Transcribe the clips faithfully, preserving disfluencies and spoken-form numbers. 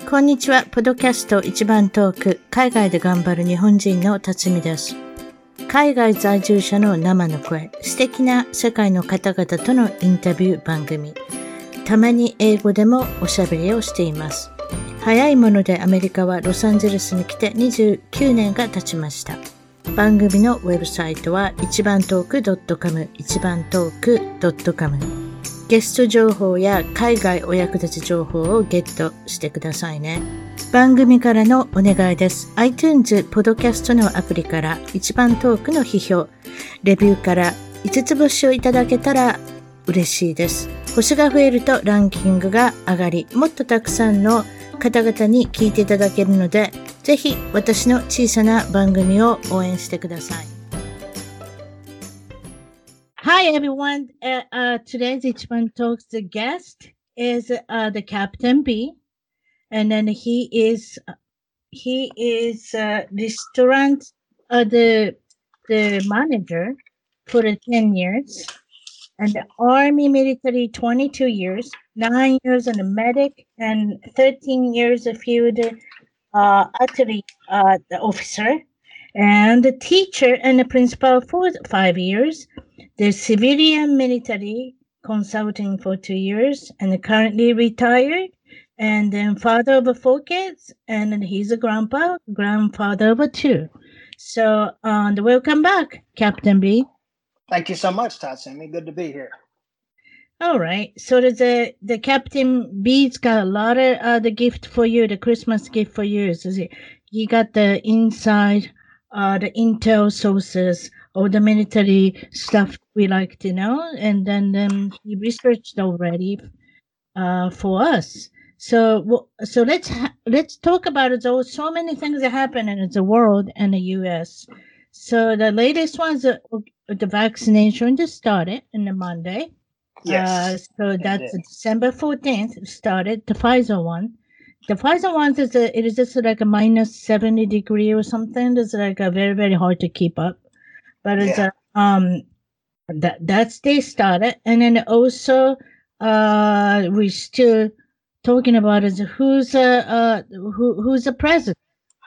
こんにちは。ポッドキャスト一番トーク、海外で頑張る日本人の辰巳です。海外在住者の生の声、素敵な世界の方々とのインタビュー番組。たまに英語でもおしゃべりをしています。早いものでアメリカはロサンゼルスに来てにじゅうきゅうねんが経ちました。番組のウェブサイトは一番トーク .com、一番トーク .com。ゲスト情報や海外お役立ち情報をゲットしてくださいね。番組からのお願いです。iTunes ポッドキャストのアプリから一番トークの批評、レビューからいつつ星をいただけたら嬉しいです。星が増えるとランキングが上がり、もっとたくさんの方々に聞いていただけるので、ぜひ私の小さな番組を応援してください。Hi everyone. Uh, uh, today's Ichiban Talks the guest is uh, the Captain B, and then he is he is uh, restaurant uh, the the manager for the ten years, and the Army military twenty-two years, nine years in the medic, and thirteen years a field uh, athlete uh, the officer, and the teacher and the principal for five years. The civilian military consulting for two years and currently retired, and then father of four kids, and then he's a grandpa, grandfather of two. So, um, welcome back, Captain B. Thank you so much, Tatsumi. Good to be here. All right. So the the Captain B's got a lot of uh, the gift for you, the Christmas gift for you. So he got the inside, uh, the intel sources. All the military stuff we like to know, and then um, he researched already uh, for us. So, so let's ha- let's talk about it. There so many things that happen in the world and the U S. So the latest one is uh, the vaccination just started on the Monday. Yes. Uh, so that's December fourteenth started the Pfizer one. The Pfizer one is a, it is just like a minus seventy degree or something. It's like a very very hard to keep up. But it's yeah. a, um that that's they started, and then also uh we're still talking about is who's a uh who who's the president.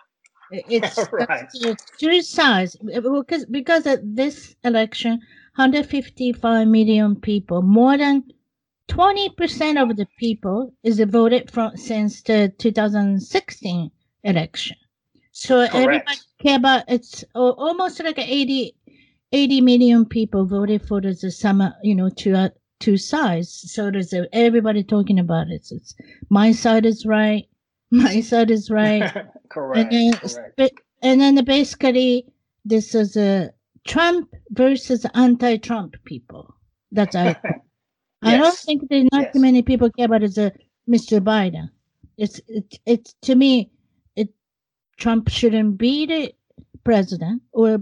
It's right. It's two sides because because at this election, one hundred fifty-five million people, more than twenty percent of the people is voted from since the two thousand sixteen election. So Correct. Everybody care about it's almost like eighty. eighty million people voted for the summer, you know, two uh, two sides. So there's a, everybody talking about it. So it's my side is right, my side is right. Correct. And then, Correct. And then basically, this is a Trump versus anti-Trump people. That's I. yes. I don't think there's not yes. too many people care about it as a Mister Biden. It's it's it's to me, it Trump shouldn't be the president or.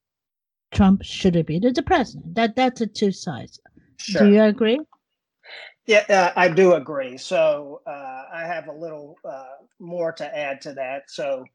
Trump should be the president. That that's a two sides. Sure. Do you agree? Yeah, uh, I do agree. So uh, I have a little uh, more to add to that. So,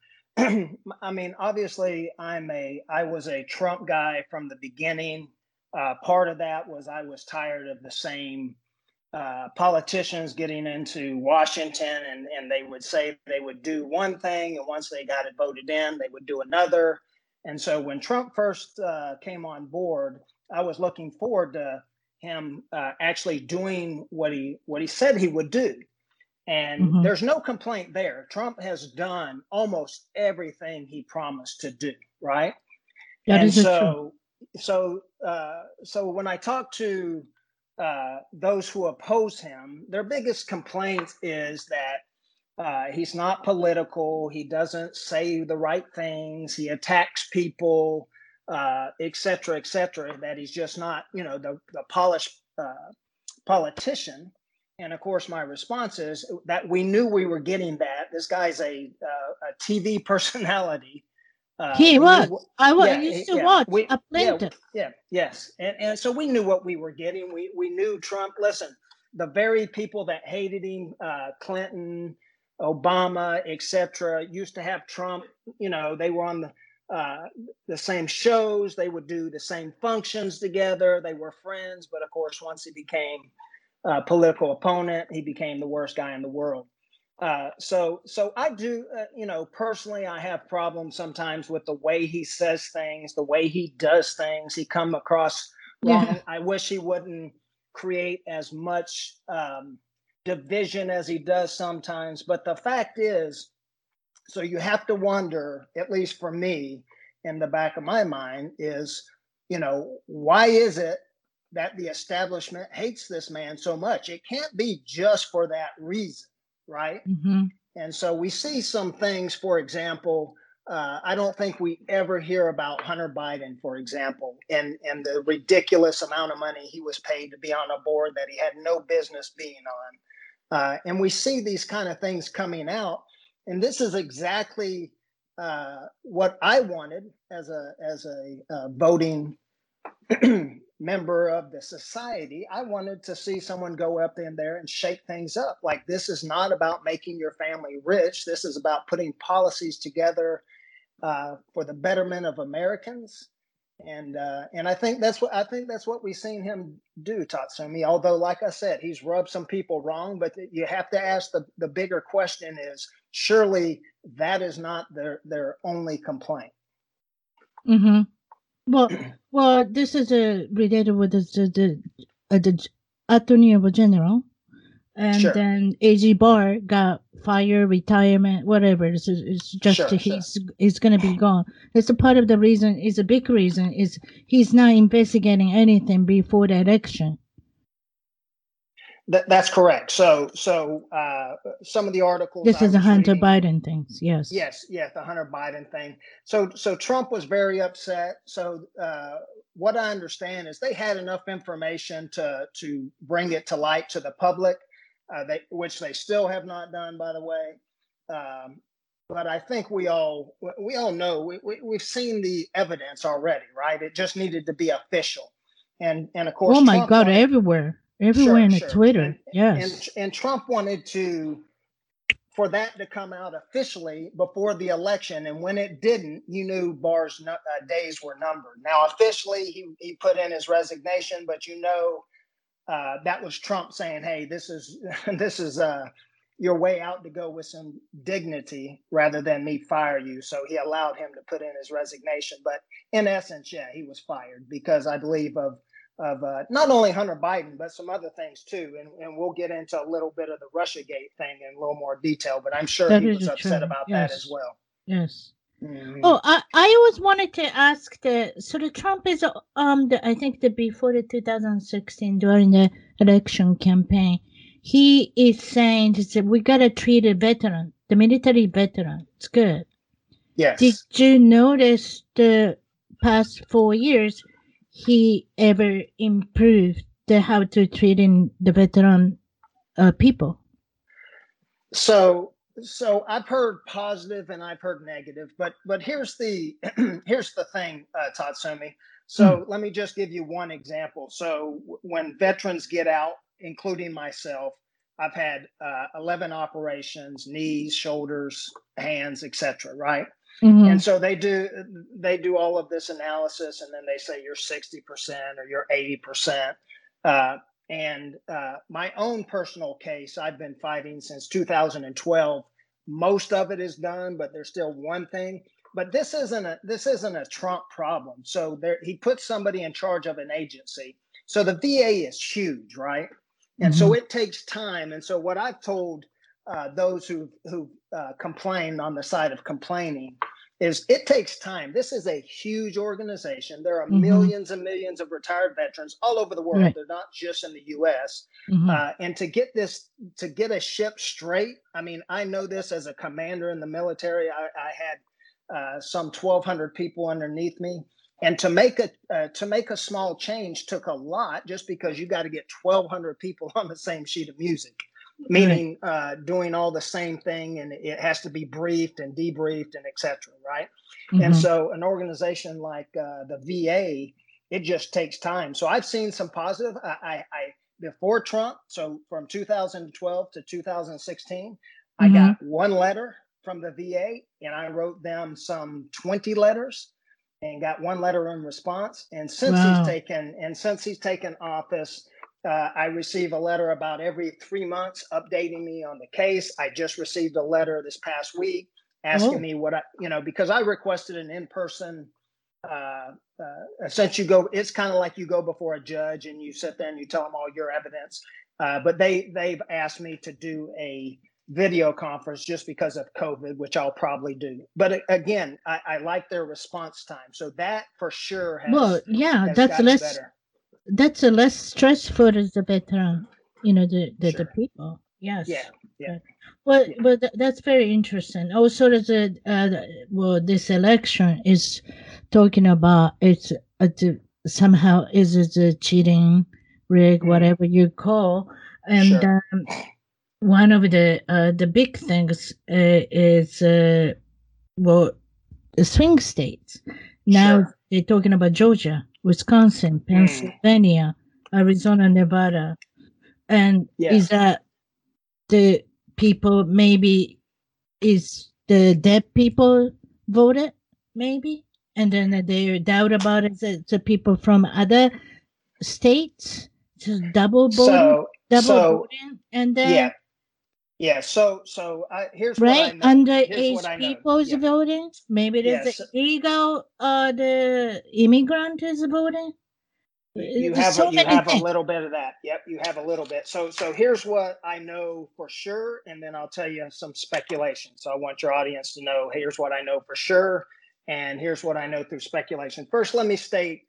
I mean, obviously, I'm a I was a Trump guy from the beginning. Uh, part of that was I was tired of the same uh, politicians getting into Washington, and and they would say they would do one thing, and once they got it voted in, they would do another. And so when Trump first uh, came on board, I was looking forward to him uh, actually doing what he what he said he would do. And mm-hmm. there's no complaint there. Trump has done almost everything he promised to do, right? That and is so, true. so, uh, so when I talk to uh, those who oppose him, their biggest complaint is that Uh, he's not political. He doesn't say the right things. He attacks people, uh, et cetera, et cetera, that he's just not, you know, the, the polished uh, politician. And of course, my response is that we knew we were getting that. This guy's a, uh, a T V personality. Uh, he was. Knew, I, was, yeah, I used to yeah, watch we, a yeah, yeah, yes. And, and so we knew what we were getting. We, we knew Trump. Listen, the very people that hated him, uh, Clinton, Obama, et cetera, used to have Trump, you know, they were on the uh, the same shows. They would do the same functions together. They were friends. But of course, once he became a political opponent, he became the worst guy in the world. Uh, so, so I do, uh, you know, personally, I have problems sometimes with the way he says things, the way he does things. He come across Yeah. wrong. I wish he wouldn't create as much um, division as he does sometimes. But the fact is, so you have to wonder, at least for me, in the back of my mind, is, you know, why is it that the establishment hates this man so much? It can't be just for that reason, right? Mm-hmm. And so we see some things, for example, uh, I don't think we ever hear about Hunter Biden, for example, and, and the ridiculous amount of money he was paid to be on a board that he had no business being on. Uh, and we see these kind of things coming out. And this is exactly uh, what I wanted as a as a uh, voting member of the society. I wanted to see someone go up in there and shake things up. Like, this is not about making your family rich. This is about putting policies together uh, for the betterment of Americans. And uh, and I think that's what I think that's what we've seen him do, Tatsumi. Although, like I said, he's rubbed some people wrong. But you have to ask the the bigger question: is surely that is not their their only complaint. Mm-hmm. Well, well, this is uh, related with the the, the, uh, the attorney general, and Sure, then A G Barr got fired, retirement, whatever. It's, it's just sure, sure. he's he's gonna be gone. That's a part of the reason. Is a big reason. Is he's not investigating anything before the election. That, that's correct. So, so uh, some of the articles This I is a was Hunter reading, Biden things. Yes. yes, yes, the Hunter Biden thing. So, so Trump was very upset. So, uh, what I understand is they had enough information to to bring it to light to the public, uh, they, which they still have not done, by the way. Um, but I think we all we all know we, we we've seen the evidence already, right? It just needed to be official, and and of Oh course my Trump God! wanted. Everywhere, everywhere Sure, in the sure. And Twitter. and Yes. and Trump wanted to for that to come out officially before the election, and when it didn't, you knew Barr's uh, days were numbered. Now, officially, he he put in his resignation, but you know uh, that was Trump saying, "Hey, this is this is uh, your way out to go with some dignity rather than me fire you." So he allowed him to put in his resignation. But in essence, yeah, he was fired because I believe of of uh, not only Hunter Biden but some other things too. And, and we'll get into a little bit of the RussiaGate thing in a little more detail. But I'm sure That he is was upset true. about that as Yes. well. Yes. Mm-hmm. Oh, I, I always wanted to ask the so the Trump is um the I think the before the two thousand sixteen during the election campaign, he is saying that we gotta treat a veteran, the military veteran. It's good. Did Yes. you notice the past four years he ever improved the how to treating the veteran uh, people? So so I've heard positive and I've heard negative, but but here's the here's the thing, uh, Tatsumi. Mm. So let me just give you one example. So w- when veterans get out, including myself, I've had uh, eleven operations: knees, shoulders, hands, et cetera. Right? And Mm-hmm. so they do they do all of this analysis, and then they say you're sixty percent or you're eighty percent. Uh, and uh, my own personal case, I've been fighting since two thousand twelve. Most of it is done, but there's still one thing. But this isn't a this isn't a Trump problem. So there, he puts somebody in charge of an agency. So the V A is huge, right? And Mm-hmm. so it takes time. And so what I've told uh, those who who uh, complain on the side of complaining is it takes time. This is a huge organization. There are Mm-hmm. millions and millions of retired veterans all over the world. Right. They're not just in the U S. Mm-hmm. Uh, and to get this, to get a ship straight, I mean, I know this as a commander in the military. I, I had uh, some twelve hundred people underneath me. And to make a uh, to make a small change took a lot, just because you got to get twelve hundred people on the same sheet of music, Right. meaning uh, doing all the same thing, and it has to be briefed and debriefed and et cetera, right? And Mm-hmm. so an organization like uh, the V A, it just takes time. So I've seen some positive. I, I, I before Trump, so from two thousand twelve to two thousand sixteen, I Mm-hmm. got one letter from the V A, and I wrote them some twenty letters and got one letter in response. And since he's Wow. taken and since he's taken office, Uh, I receive a letter about every three months updating me on the case. I just received a letter this past week asking Oh, me what I, you know, because I requested an in-person, uh, uh, since you go, it's kind of like you go before a judge and you sit there and you tell them all your evidence. Uh, but they, they've asked me to do a video conference just because of COVID, which I'll probably do. But again, I, I like their response time. So that for sure well, has, yeah, has that's gotten less better. that's a less stress for the veteran, you know, the the, the Sure. people. Yeah. Yes. Yeah. But, well, Yeah. but tha- that's very interesting. Also, there's a uh, well, this election is talking about it's uh, the- somehow is it a cheating, rig, Mm, whatever you call, and sure. um, one of the uh, the big things uh, is uh, well, the swing states. Now Sure. they're talking about Georgia, Wisconsin, Mm, Pennsylvania, Arizona, Nevada. And is yes. that the people maybe is the dead people voted maybe? And then they doubt about it. The, the people from other states, just double voting, So, double so voting, and yeah, then yeah. So, so I, here's what I right know. Here's what underage I know. people is Yeah. voting. Maybe there's the Yes. illegal, uh, the immigrant is voting. You, you There's have a, so you many have a things. little bit of that. Yep. You have a little bit. So, so here's what I know for sure. And then I'll tell you some speculation. So I want your audience to know, here's what I know for sure. And here's what I know through speculation. First, let me state,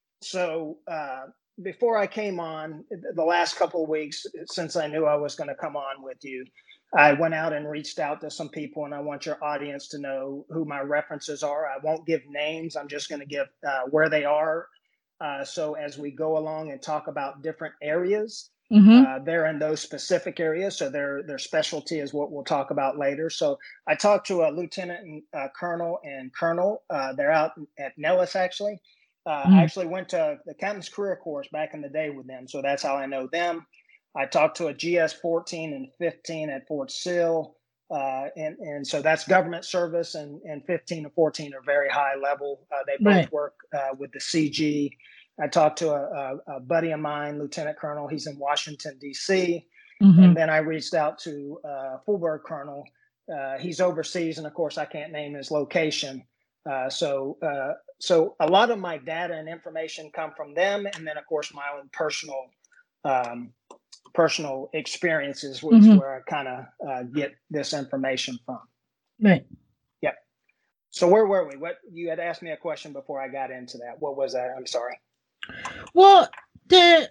so uh, before I came on, the last couple of weeks, since I knew I was going to come on with you, I went out and reached out to some people, and I want your audience to know who my references are. I won't give names. I'm just going to give uh, where they are. Uh, so as we go along and talk about different areas, Mm-hmm. uh, they're in those specific areas. So their their specialty is what we'll talk about later. So I talked to a lieutenant and uh, colonel and colonel. Uh, they're out at Nellis actually. Uh, I Mm. actually went to the captain's career course back in the day with them, so that's how I know them. I talked to a G S fourteen and fifteen at Fort Sill, uh, and and so that's government service, and and fifteen and fourteen are very high level. Uh, they both Right. work uh, with the C G. I talked to a, a, a buddy of mine, Lieutenant Colonel. He's in Washington D C, Mm-hmm. and then I reached out to uh, Fulberg Colonel. Uh, he's overseas, and of course, I can't name his location. Uh, so, uh, so a lot of my data and information come from them, and then of course my own personal, um, personal experiences, which Mm-hmm. where I kind of uh, get this information from. Right. Yep. So where were we? What you had asked me a question before I got into that. What was that? I'm sorry. Well, the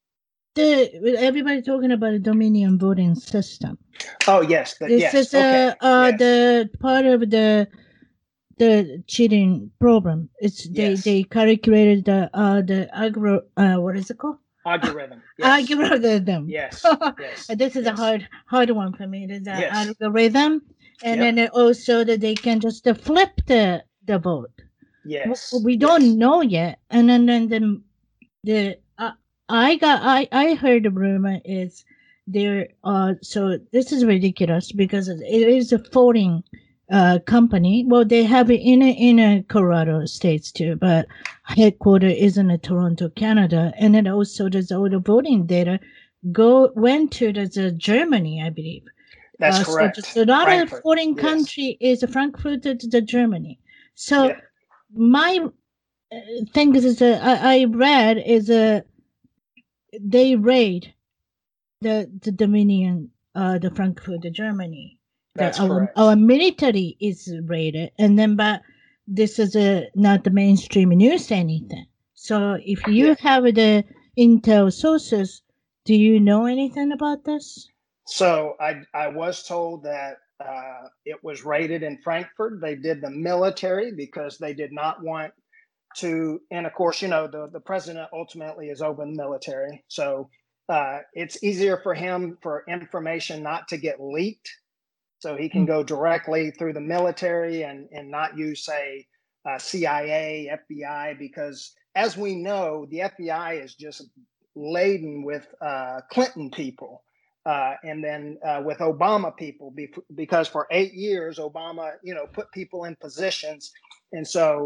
the everybody talking about the Dominion voting system. Oh yes, the, This yes. is Okay. a uh, Yes. the part of the the cheating program. It's they Yes. they calculated the uh the agro uh what is it called? Algorithm. Yes. Algorithm. Yes. Yes. This is a Yes. hard hard one for me. There's an Yes. algorithm, and Yep. then also that they can just uh, flip the the vote. Yes. We don't Yes. know yet, and then then the the uh, I got I I heard the rumor is there. Uh, so this is ridiculous because it is a voting uh company. Well, they have it in a, in a Colorado states too, but headquarter is in a Toronto, Canada, and then also there's all the voting data go went to the, the Germany, I believe. That's Uh, so correct. just another Frankfurt. foreign Yes. country is Frankfurt to the Germany. So Yep. my uh, thing is, is uh, I, I read is a uh, they raid the the Dominion, uh, the Frankfurt, the Germany. The That's our correct. our military is raided, and then but this is a not the mainstream news anything. So if you Yeah. have the intel sources, do you know anything about this? So I I was told that uh, it was raided in Frankfurt. They did the military because they did not want to, and of course, you know, the, the president ultimately is over the military. So uh, it's easier for him for information not to get leaked. So he can Mm. go directly through the military and, and not use, say, uh, C I A, F B I, because as we know, the F B I is just laden with uh, Clinton people. Uh, and then uh, with Obama people, because for eight years, Obama, you know, put people in positions. And so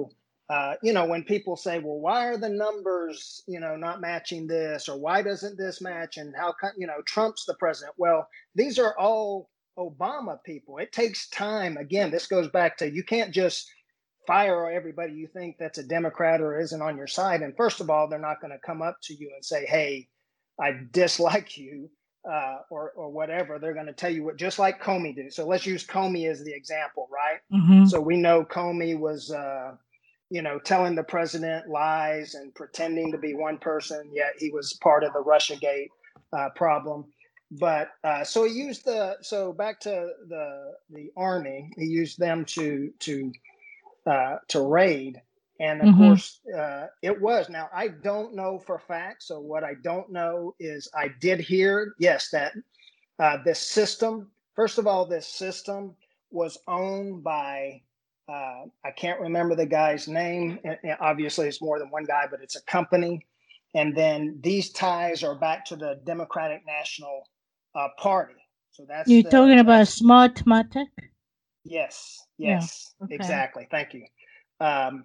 uh, you know, when people say, well, why are the numbers, you know, not matching this, or why doesn't this match? And how come, you know, Trump's the president? Well, these are all Obama people. It takes time. Again, this goes back to, you can't just fire everybody you think that's a Democrat or isn't on your side. And first of all, they're not going to come up to you and say, hey, I dislike you. Uh, or or whatever. They're going to tell you what, just like Comey did. So let's use Comey as the example, right? Mm-hmm. So we know Comey was, uh, you know, telling the president lies and pretending to be one person, yet he was part of the Russiagate uh, problem. But uh, so he used the, so back to the the army, he used them to to uh, to raid. And of Mm-hmm. course, uh, it was. Now, I don't know for fact. So what I don't know is I did hear, yes, that uh, this system, first of all, this system was owned by, uh, I can't remember the guy's name. And, and obviously, it's more than one guy, but it's a company. And then these ties are back to the Democratic National uh, Party. So that's You're the, talking about that's, Smartmatic? yes, Yeah, yes, okay. exactly. Thank you. Um,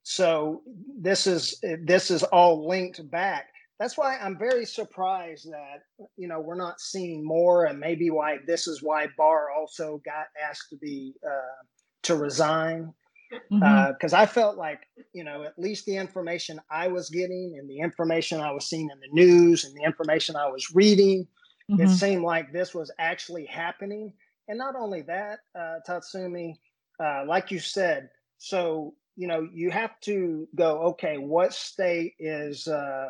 so this is this is all linked back. That's why I'm very surprised that, you know, we're not seeing more, and maybe why this is why Barr also got asked to be uh, to resign, because Mm-hmm. uh, I felt like, you know, at least the information I was getting and the information I was seeing in the news and the information I was reading, Mm-hmm. it seemed like this was actually happening. And not only that, uh, Tatsumi, uh, like you said, so, you know, you have to go, okay, what state is uh,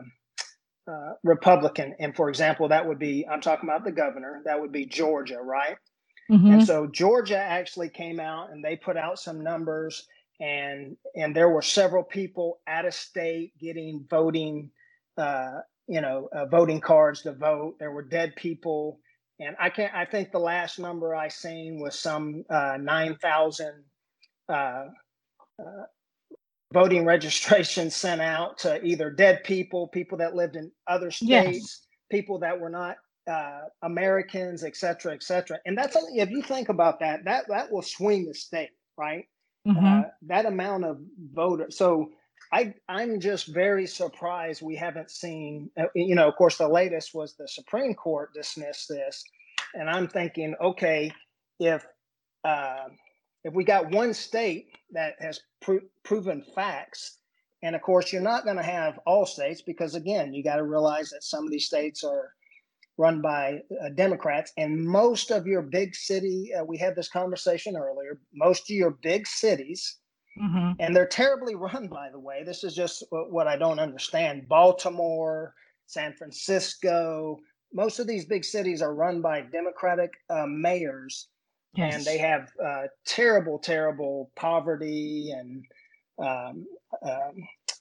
uh, Republican? And for example, that would be, I'm talking about the governor, that would be Georgia, right? Mm-hmm. And so Georgia actually came out and they put out some numbers, and and there were several people out of state getting voting, uh, you know, uh, voting cards to vote. There were dead people. And I can't, I think the last number I seen was some uh, nine thousand uh, uh, voting registrations sent out to either dead people, people that lived in other states, Yes. people that were not uh, Americans, et cetera, et cetera. And that's only, if you think about that, that that will swing the state, right? Mm-hmm. Uh, that amount of voters. So I I'm just very surprised we haven't seen. Uh, you know, of course, the latest was the Supreme Court dismissed this, and I'm thinking, okay, if uh, if we got one state that has pro- proven facts, and of course, you're not going to have all states because, again, you got to realize that some of these states are run by uh, Democrats, and most of your big city, uh, we had this conversation earlier, most of your big cities, Mm-hmm. and they're terribly run, by the way. This is just what I don't understand. Baltimore, San Francisco, most of these big cities are run by Democratic uh, mayors. Yes. And they have uh, terrible, terrible poverty and um, um,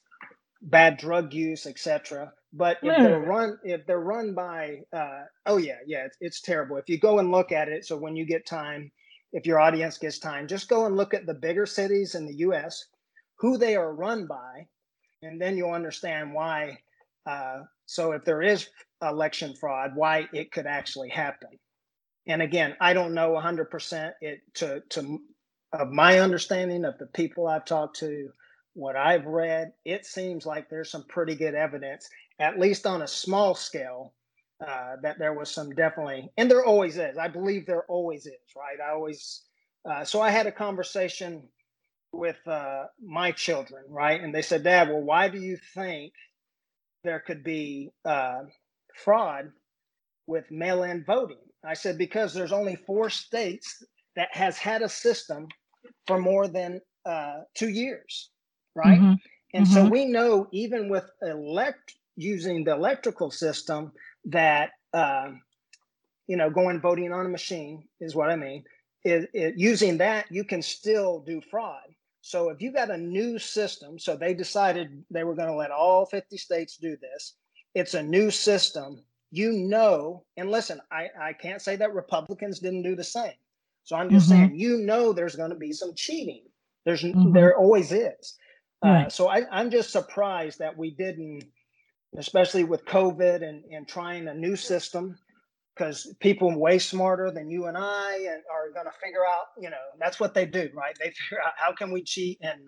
bad drug use, et cetera. But if they're run, if they're run by, uh, oh yeah, yeah, it's, it's terrible. If you go and look at it, so when you get time, if your audience gets time, just go and look at the bigger cities in the U S, who they are run by, and then you'll understand why. Uh, so if there is election fraud, why it could actually happen. And again, I don't know one hundred percent it to, to of my understanding of the people I've talked to, what I've read, it seems like there's some pretty good evidence, at least on a small scale, uh, that there was some definitely, and there always is. I believe there always is, right? I always, uh, so I had a conversation with uh, my children, right? And they said, Dad, well, why do you think there could be uh, fraud with mail-in voting? I said, because there's only four states that has had a system for more than uh, two years, right? Mm-hmm. And mm-hmm. so we know even with elect using the electrical system that, uh, you know, going voting on a machine is what I mean, is, is using that, you can still do fraud. So if you got a new system, so they decided they were going to let all fifty states do this. It's a new system, you know, and listen, I, I can't say that Republicans didn't do the same. So I'm just mm-hmm. saying, you know, there's going to be some cheating. There's mm-hmm. there always is. Right. Uh, so I, I'm just surprised that we didn't, especially with COVID and, and trying a new system, because people way smarter than you and I and are going to figure out, you know, that's what they do, right? They figure out how can we cheat and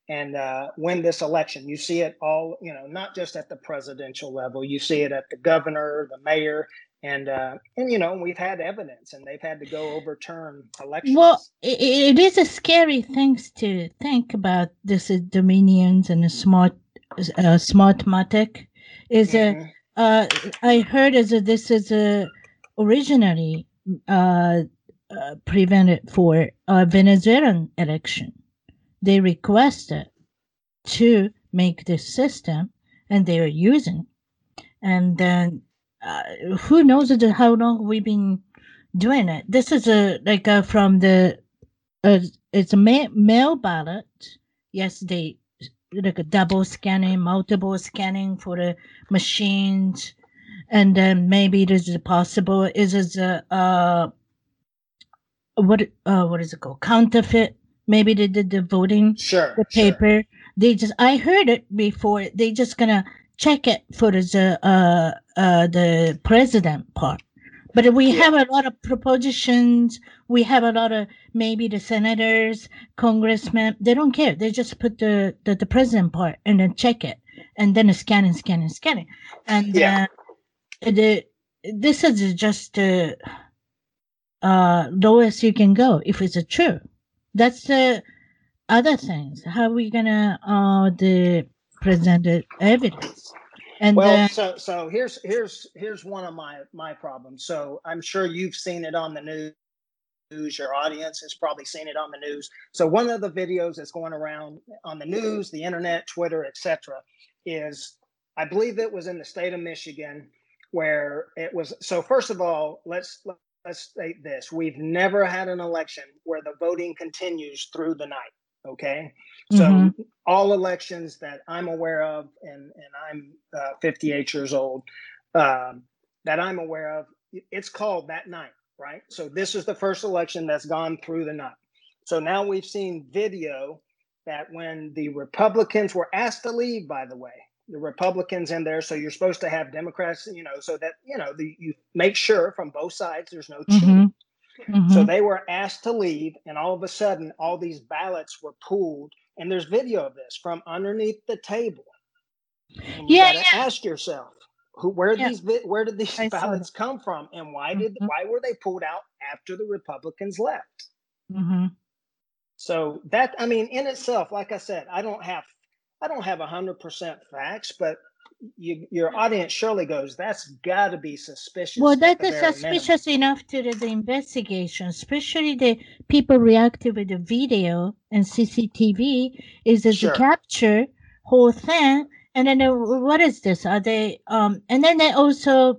and uh, win this election. You see it all, you know, not just at the presidential level. You see it at the governor, the mayor, and uh, and you know, we've had evidence, and they've had to go overturn elections. Well, it, it is a scary thing to think about. This is Dominions and the smart, uh, Smartmatic. Is a Mhm. uh, I heard is that this is a originally uh, uh, prevented for a Venezuelan election. They requested to make this system, and they are using. And then uh, who knows it- how long we've been doing it. This is a like uh, from the uh, it's a ma- mail ballot. Yes, they like a double scanning, multiple scanning for the machines, and then maybe it is possible. Is is a uh, what uh what is it called, counterfeit? Maybe they did the voting, Sure, the sure. paper. They just I heard it before. They just gonna check it for the uh uh the president part. But we Yeah. have a lot of propositions. We have a lot of maybe the senators, congressmen. They don't care. They just put the the, the president part and then check it, and then scan and scan and scan it. And Yeah. uh, the this is just uh, uh, lowest you can go if it's a true. That's the other things. How are we gonna uh the present the evidence? And Well, then so so here's here's here's one of my my problems. So I'm sure you've seen it on the news. Your audience has probably seen it on the news. So one of the videos that's going around on the news, the internet, Twitter, et cetera, is I believe it was in the state of Michigan, where it was. So first of all, let's let's state this: we've never had an election where the voting continues through the night. Okay, so mm-hmm, all elections that I'm aware of, and and I'm uh, fifty-eight years old, um, that I'm aware of, it's called that night. Right. So this is the first election that's gone through the night. So now we've seen video that when the Republicans were asked to leave, by the way, the Republicans in there. So you're supposed to have Democrats, you know, so that, you know, the, you make sure from both sides there's no cheating. mm-hmm, mm-hmm. So they were asked to leave, and all of a sudden, all these ballots were pulled. And there's video of this from underneath the table. And you Yeah, got to yeah, ask yourself, who, where yeah. these where did these I saw that. ballots come from, and why did Mm-hmm, why were they pulled out after the Republicans left? mm-hmm. So that, I mean, in itself, like I said, I don't have I don't have a hundred percent facts, but you, your audience surely goes, that's got to be suspicious. Well, at that the is very suspicious enough to the, the investigation, especially the people reacted with the video and C C T V. Is as a Sure. capture whole thing, and then uh, what is this? Are they um? And then they also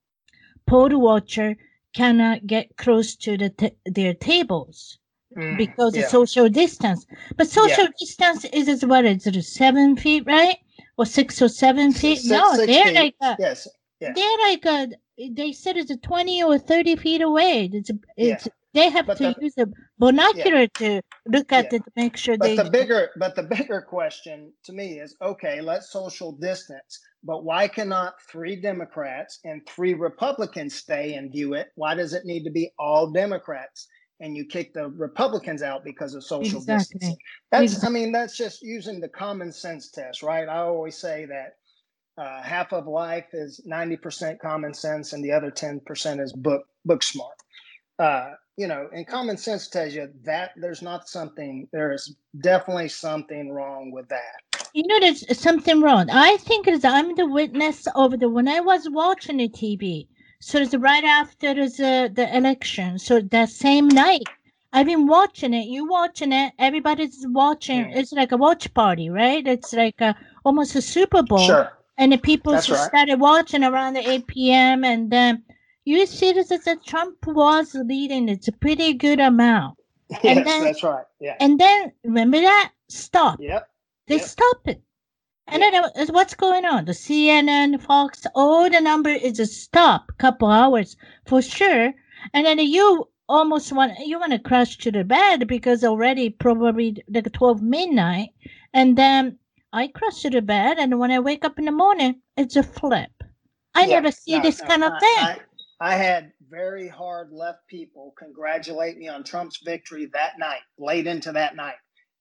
poll watcher cannot get close to the t- their tables Mm, because of yeah. social distance. But social Yeah. distance is is what is it? Seven feet, right? Or six or seven feet? Six, No, six they're feet. like a, Yes. Yeah. they're like a, they said it's a twenty or thirty feet away. It's it's Yeah. they have But to the use a binocular to look at yeah. it to make sure But they. the bigger, but the bigger question to me is, okay, let's social distance, but why cannot three Democrats and three Republicans stay and view it? Why does it need to be all Democrats and you kick the Republicans out because of social Exactly. distancing? That's, Exactly. I mean, that's just using the common sense test, right? I always say that uh, half of life is ninety percent common sense and the other ten percent is book book smart. Uh, you know, and common sense tells you that there's not something, there is definitely something wrong with that. You know, there's something wrong. I think it's I'm the witness of the when I was watching the T V. So it's right after the the election. So that same night, I've been watching it. You watching it? Everybody's watching. Mm. It's like a watch party, right? It's like a, almost a Super Bowl, Sure. and the people That's just right. started watching around the eight p.m. and then you see this as that Trump was leading. It's a pretty good amount, and Yes, then that's right. Yeah. and then remember that stop. Yep. They Yep. stop it. And Yeah. then uh, what's going on? The C N N, Fox, all the number is a stop, couple hours for sure. And then you almost want you want to crash to the bed because already probably like twelve midnight. And then I crash to the bed, and when I wake up in the morning, it's a flip. I Yeah. never see No, this no, kind of I, thing. I, I had very hard left people congratulate me on Trump's victory that night, late into that night.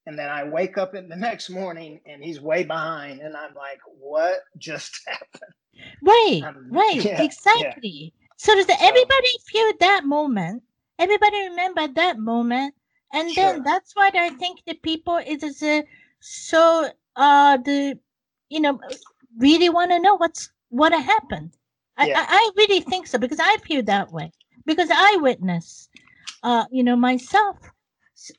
And then I wake up in the next morning and he's way behind. And I'm like, what just happened? Right, Um, right, yeah, yeah. exactly. So that So, everybody feel that moment, everybody remember that moment, and then sure. that's why I think the people it is uh, so uh the you know really want to know what's what happened. I, Yeah. I I really think so because I feel that way because I witnessed uh you know myself. S-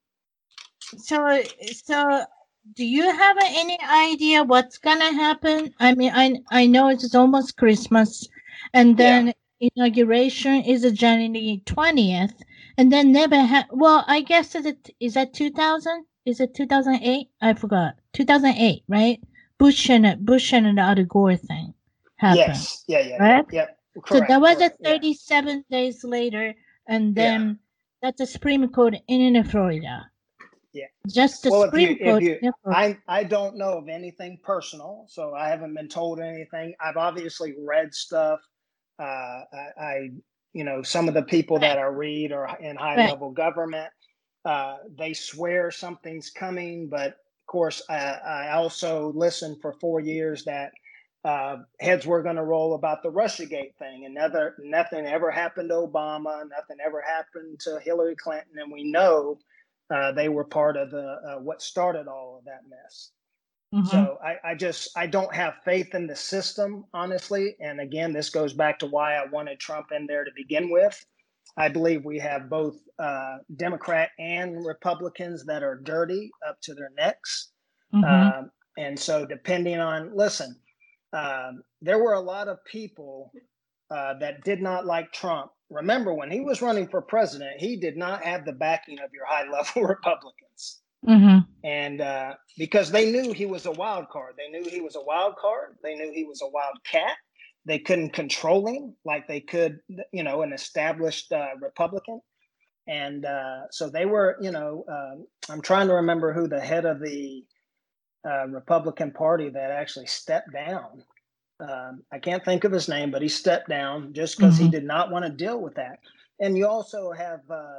So so do you have any idea what's gonna happen? I mean, I I know it's almost Christmas, and Yeah. then inauguration is a January twentieth, and then never ha- well, I guess is it is that two thousand? Is it two thousand eight? I forgot. two thousand eight, right? Bush and Bush and the Al Gore thing happened, Yes. Yeah. Yeah. Yeah. right? Yep. So that Correct. was a Correct. Yeah. thirty-seven days later, and Yeah. then that's the Supreme Court in Florida. Yeah. Just the Well, if you, Supreme if Court you, in Florida. I, I don't know of anything personal, so I haven't been told anything. I've obviously read stuff. Uh, I, I, you know, some of the people Right, that I read are in high right. level government. Uh, they swear something's coming, but of course, I, I also listened for four years that uh, heads were going to roll about the Russiagate thing, and never, nothing ever happened to Obama, nothing ever happened to Hillary Clinton, and we know uh, they were part of the uh, what started all of that mess. Mhm. So I, I just I don't have faith in the system, honestly. And again, this goes back to why I wanted Trump in there to begin with. I believe we have both uh, Democrat and Republicans that are dirty up to their necks. Mhm. Um, and so, depending on, listen, um, there were a lot of people uh, that did not like Trump. Remember, when he was running for president, he did not have the backing of your high level Republicans. Mhm. And uh, because they knew he was a wild card, they knew he was a wild card, they knew he was a wild cat. They couldn't control him like they could, you know, an established uh, Republican. And uh, so they were, you know, um, I'm trying to remember who the head of the uh, Republican Party that actually stepped down. Um, I can't think of his name, but he stepped down just because he Mhm. did not want to deal with that. And you also have uh,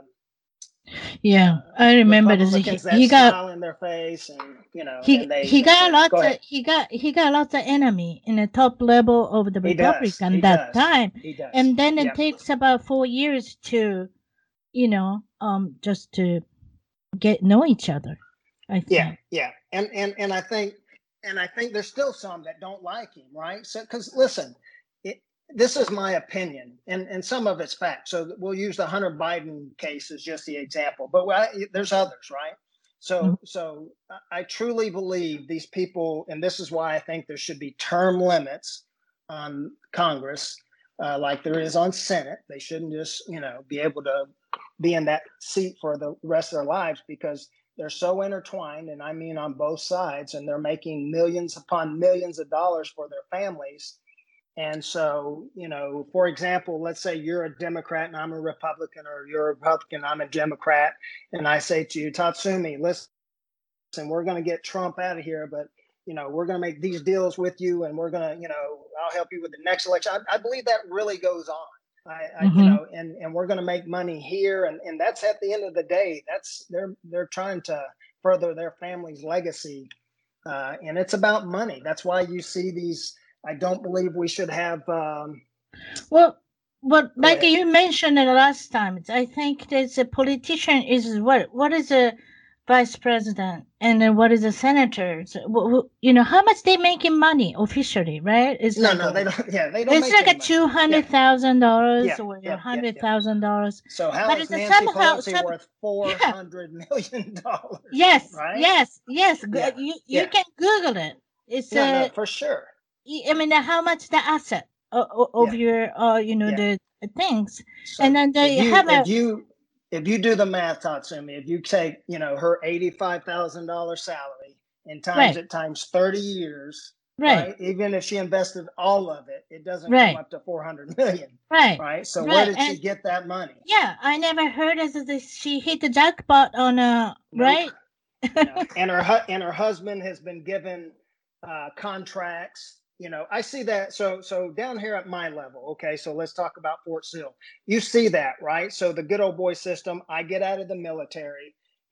Yeah, uh, I remember this. Republicans He, that he got smile in their face, and you know, he and they he they got say, "Go lots of ahead." he got he got lots of enemy in the top level of the He does. Republican He that does. time, He does. and then it Yep. takes about four years to you know um just to get know each other. I Yeah. think. Yeah. And and and I think and I think there's still some that don't like him, right? So, because listen, it, this is my opinion, and and some of it's fact. So we'll use the Hunter Biden case as just the example, but I, there's others, right? Mhm. So so I truly believe these people, and this is why I think there should be term limits on Congress, uh, like there is on Senate. They shouldn't just you know be able to be in that seat for the rest of their lives because they're so intertwined, and I mean on both sides, and they're making millions upon millions of dollars for their families. And so, you know, for example, let's say you're a Democrat and I'm a Republican, or you're a Republican, I'm a Democrat, and I say to you, Tatsumi, listen, we're going to get Trump out of here, but you know, we're going to make these deals with you, and we're going to, you know, I'll help you with the next election. I, I believe that really goes on. I, I you Mhm. know, and and we're going to make money here, and and that's at the end of the day. That's they're they're trying to further their family's legacy, uh, and it's about money. That's why you see these. I don't believe we should have. Um, Well, but go like ahead. you mentioned it last time, I think there's a politician is what what is a vice president and then what is a senator? So, wh- wh- you know how much they making money officially, right? It's No, like no, a they don't. Yeah, they don't it's make like any a money. two Yeah, hundred thousand dollars yeah, or a yeah, yeah, hundred yeah. thousand dollars, So how but is it's a Nancy somehow Pelosi some worth four yeah hundred million dollars? yes Right? yes yes Yeah, Go- you you yeah. can Google it. It's No, no, a for sure. I mean how much the asset of, of Yeah, your uh you know yeah. the things, So and then if they you have if a you if you do the math, Tatsumi, if you take you know her eighty five thousand dollar salary and times right it times thirty years, right right? Even if she invested all of it, it doesn't come right up to four hundred million, right right? So where right did she and get that money? yeah I never heard as this she hit the jackpot on a Nope. right. No, and her hu- and her husband has been given uh, contracts. You know, I see that. So so down here at my level, okay. So let's talk about Fort Sill. You see that, right? So the good old boy system. I get out of the military,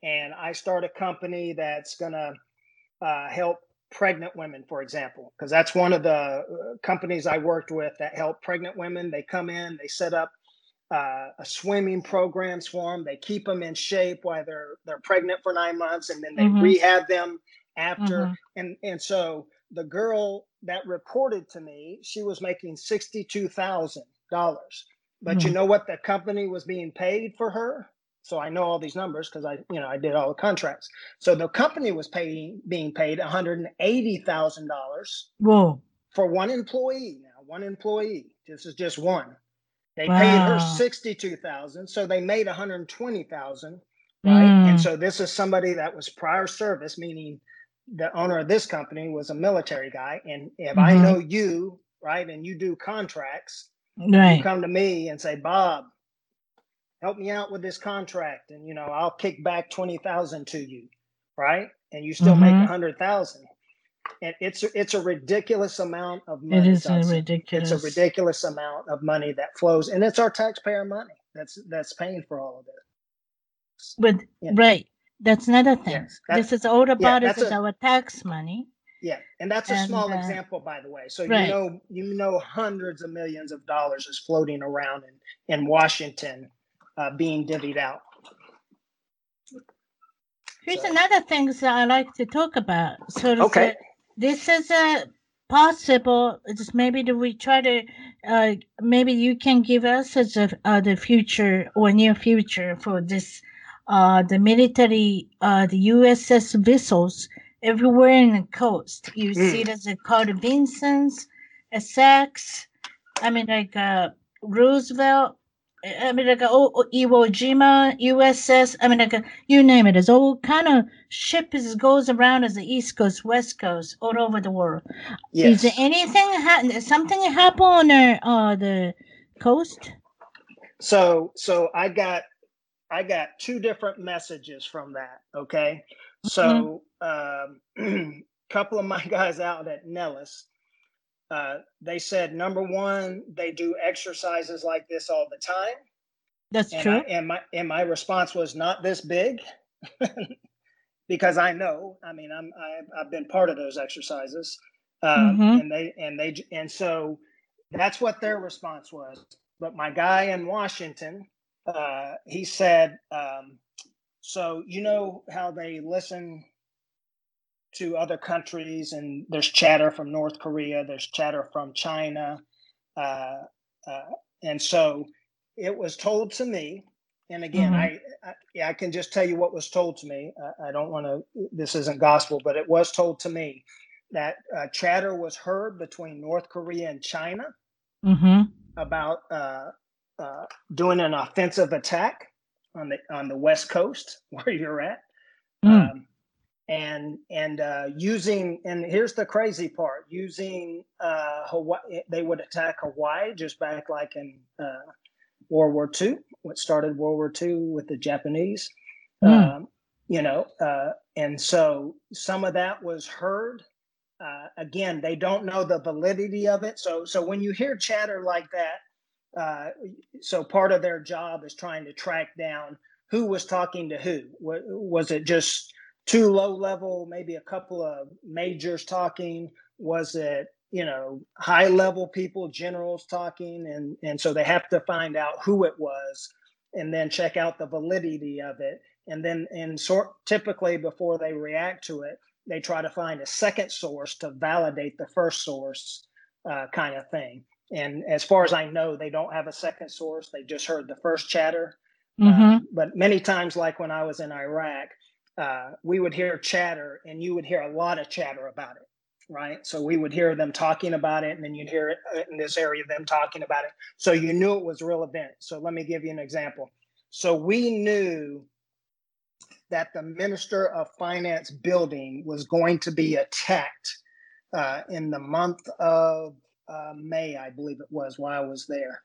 and I start a company that's going to uh, help pregnant women, for example, because that's one of the uh, companies I worked with that help pregnant women. They come in, they set up uh, a swimming programs for them. They keep them in shape while they're they're pregnant for nine months, and then they Mm-hmm. rehab them after. Mm-hmm. And and so the girl that reported to me, she was making sixty-two thousand dollars. But Mm-hmm. you know what the company was being paid for her? So I know all these numbers because I, you know, I did all the contracts. So the company was paying, being paid one hundred eighty thousand dollars Whoa. for one employee. Now, one employee. This is just one. They Wow. paid her sixty-two thousand dollars, so they made one hundred twenty thousand dollars, right? Mm. And so this is somebody that was prior service, meaning the owner of this company was a military guy. And if Mm-hmm. I know you, right, and you do contracts, Right. you come to me and say, Bob, help me out with this contract, and you know I'll kick back twenty thousand to you, right? And you still Mm-hmm. make a hundred thousand, and it's it's a ridiculous amount of money. It is a Dodson. ridiculous. It's a ridiculous amount of money that flows, and it's our taxpayer money that's that's paying for all of this. But Yeah. right, that's another thing. Yes, that- this is all about yeah, is that's a- our tax money. Yeah, and that's a And, small uh, example, by the way. So right. you know, you know, hundreds of millions of dollars is floating around in in Washington, uh, being divvied out. Here's So- another thing that I like to talk about. So it's Okay. a- this is a possible. It's maybe that we try to. Uh, maybe you can give us as a uh, the future or near future for this. Uh, the military, uh, the U S S vessels everywhere in the coast. You Mm. see it as a Carl Vincent's, Essex. I mean, like uh, Roosevelt. I mean, like oh, oh, Iwo Jima, U S S. I mean, like you name it. There's all kind of ships goes around as the East Coast, West Coast, all over the world. Yes. Is there anything ha- something happen on the uh, the coast? So so I got I got two different messages from that. Okay. So um, a couple of my guys out at Nellis, uh, they said number one, they do exercises like this all the time. That's and true. I, and my and my response was not this big, because I know. I mean, I'm I, I've been part of those exercises, um, Mhm. and they and they and so that's what their response was. But my guy in Washington, uh, he said, um, so you know how they listen to other countries, and there's chatter from North Korea, there's chatter from China, uh, uh, and so it was told to me. And again, Mhm. I, I yeah, I can just tell you what was told to me. I, I don't want to. This isn't gospel, but it was told to me that uh, chatter was heard between North Korea and China Mhm. about uh, uh, doing an offensive attack on the on the West Coast where you're at. Mm. Um, and and uh, using, and here's the crazy part, using uh, Hawaii, they would attack Hawaii just back like in uh, World War Two, what started World War Two with the Japanese, Mm. um, you know, uh, and so some of that was heard. Uh, again, they don't know the validity of it. So so when you hear chatter like that, uh, so part of their job is trying to track down who was talking to who. Was it just too low level, maybe a couple of majors talking? Was it, you know, high level people, generals talking? And, and so they have to find out who it was and then check out the validity of it. And then, and sort typically before they react to it, they try to find a second source to validate the first source, uh, kind of thing. And as far as I know, they don't have a second source. They just heard the first chatter. Mhm. Uh, but many times, like when I was in Iraq, uh, we would hear chatter, and you would hear a lot of chatter about it, right? So we would hear them talking about it, and then you'd hear it in this area, them talking about it. So you knew it was a real event. So let me give you an example. So we knew that the Minister of Finance building was going to be attacked uh, in the month of uh, May, I believe it was, while I was there.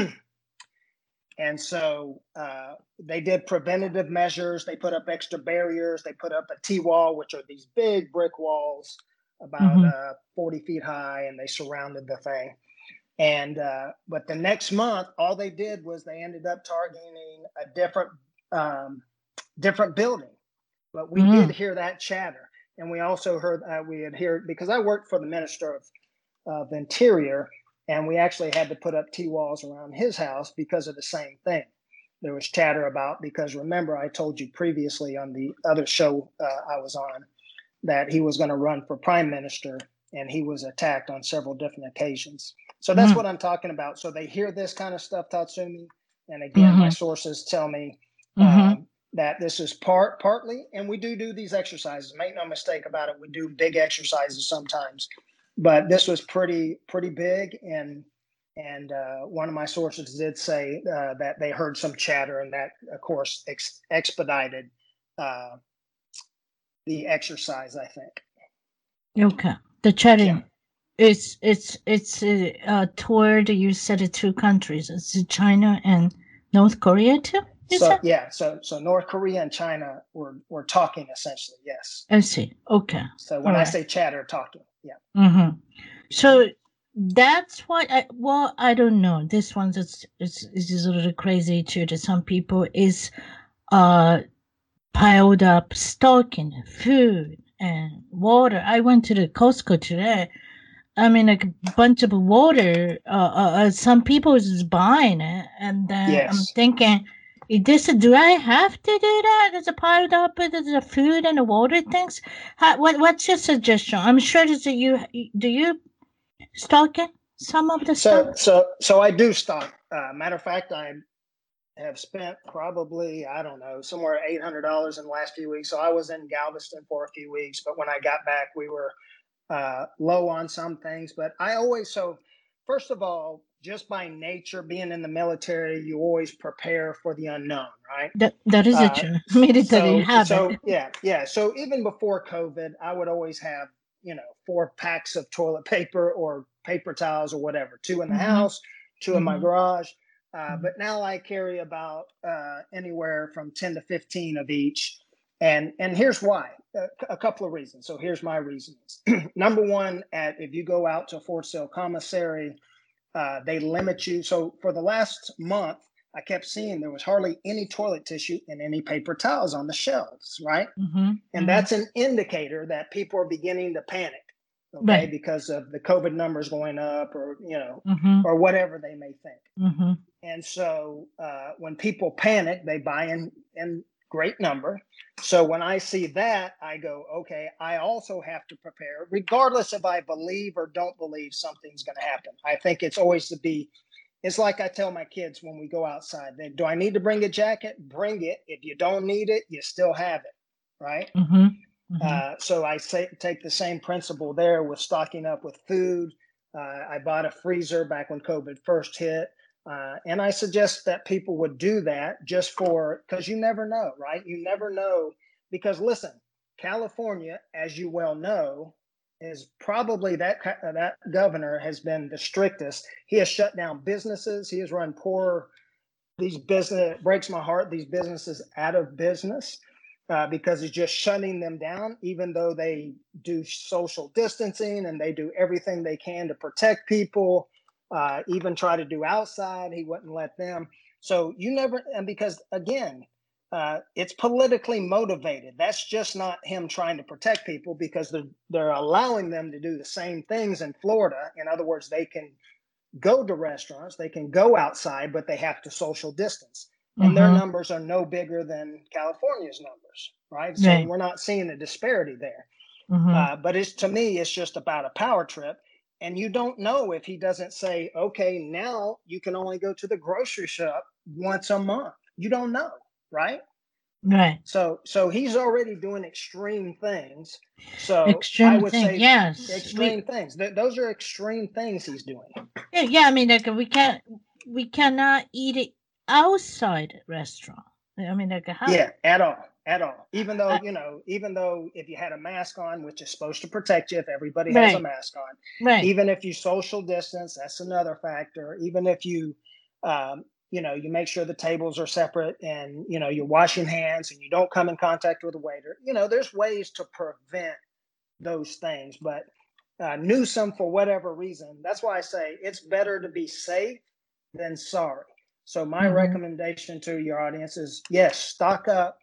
And so uh, they did preventative measures. They put up extra barriers. They put up a T-wall, which are these big brick walls about Mhm. uh, forty feet high, and they surrounded the thing. And uh, but the next month, all they did was they ended up targeting a different um, different building. but we Mm. did hear that chatter. And we also heard, uh, we had heard, because I worked for the Minister of, of Interior, and we actually had to put up T-walls around his house because of the same thing. There was chatter about, because remember, I told you previously on the other show uh, I was on that he was going to run for prime minister, and he was attacked on several different occasions. So that's Mm. what I'm talking about. So they hear this kind of stuff, Tatsumi. And again, Mm-hmm. my sources tell me Mm-hmm. um, that this is part partly, and we do do these exercises. Make no mistake about it. We do big exercises sometimes, but this was pretty pretty big. And and uh, one of my sources did say uh, that they heard some chatter, and that, of course, ex- expedited uh, the exercise, I think. Okay. The chatting. Yeah. It's it's it's uh, uh, toward, you said, it two countries. It's China and North Korea too. You So said. yeah, so so North Korea and China were were talking essentially. Yes. I see. Okay. So All when I right. say chatter, talking. Yeah. Mm-hmm. So that's what I, well, I don't know. This one is is is a little crazy too. To some people, is uh piled up stock in food and water. I went to the Costco today. I mean, like a bunch of water. Uh, uh, uh some people is just buying it, and then I'm Yes. thinking, is this, do I have to do that? There's a piled up with the food and the water things. How, what what's your suggestion? I'm sure that you do you stock it, some of the So stuff. so so I do stock. Uh, matter of fact, I have spent probably, I don't know, somewhere eight hundred dollars in the last few weeks. So I was in Galveston for a few weeks, but when I got back, we were uh, low on some things. But I always, so first of all, just by nature, being in the military, you always prepare for the unknown, right? That that is a Uh, true military so, habit. so yeah, yeah. So even before COVID, I would always have, you know, four packs of toilet paper or paper towels or whatever, two in the Mm-hmm. house, two in my Mm-hmm. garage. Uh, Mm-hmm. but now I carry about uh, anywhere from ten to fifteen of each. And and here's why. Uh, a couple of reasons. So here's my reasons. Number one, at if you go out to Fort Sill Commissary, uh, they limit you. So for the last month, I kept seeing there was hardly any toilet tissue and any paper towels on the shelves, right? Mm-hmm. And that's an indicator that people are beginning to panic, okay, Right. because of the COVID numbers going up, or you know, Mm-hmm. or whatever they may think. Mm-hmm. And so uh, when people panic, they buy in in great number. So when I see that, I go, okay, I also have to prepare, regardless if I believe or don't believe something's going to happen. I think it's always to be, it's like I tell my kids when we go outside, they, do I need to bring a jacket? Bring it. If you don't need it, you still have it, right? Mm-hmm. Mm-hmm. Uh, so I say, take the same principle there with stocking up with food. Uh, I bought a freezer back when COVID first hit. Uh, and I suggest that people would do that just for, because you never know, right? You never know. Because listen, California, as you well know, is probably that that governor has been the strictest. He has shut down businesses. He has run poor, these business, it breaks my heart, these businesses out of business. Uh, because he's just shutting them down, even though they do social distancing and they do everything they can to protect people, uh, even try to do outside, he wouldn't let them. So you never, and because again, uh, it's politically motivated. That's just not him trying to protect people, because they're, they're allowing them to do the same things in Florida. In other words, they can go to restaurants, they can go outside, but they have to social distance. And Mm-hmm. their numbers are no bigger than California's numbers, right? So Right. we're not seeing a disparity there. Mm-hmm. Uh, but it's, to me, it's just about a power trip. And you don't know if he doesn't say, okay, now you can only go to the grocery shop once a month. You don't know, right? Right. So so he's already doing extreme things. So Extreme I would thing. say Yes. extreme We. things. Th- those are extreme things he's doing. Yeah. Yeah. I mean, like we can't. We cannot eat it outside restaurant. I mean, like how. Yeah, at all, at all. Even though, Uh, you know, even though if you had a mask on, which is supposed to protect you if everybody has a right. mask on, Right. even if you social distance, that's another factor. Even if you, um, you know, you make sure the tables are separate, and, you know, you're washing hands and you don't come in contact with a waiter, you know, there's ways to prevent those things. But uh, Newsom, for whatever reason, that's why I say it's better to be safe than sorry. So my Mm-hmm. recommendation to your audience is, yes, stock up.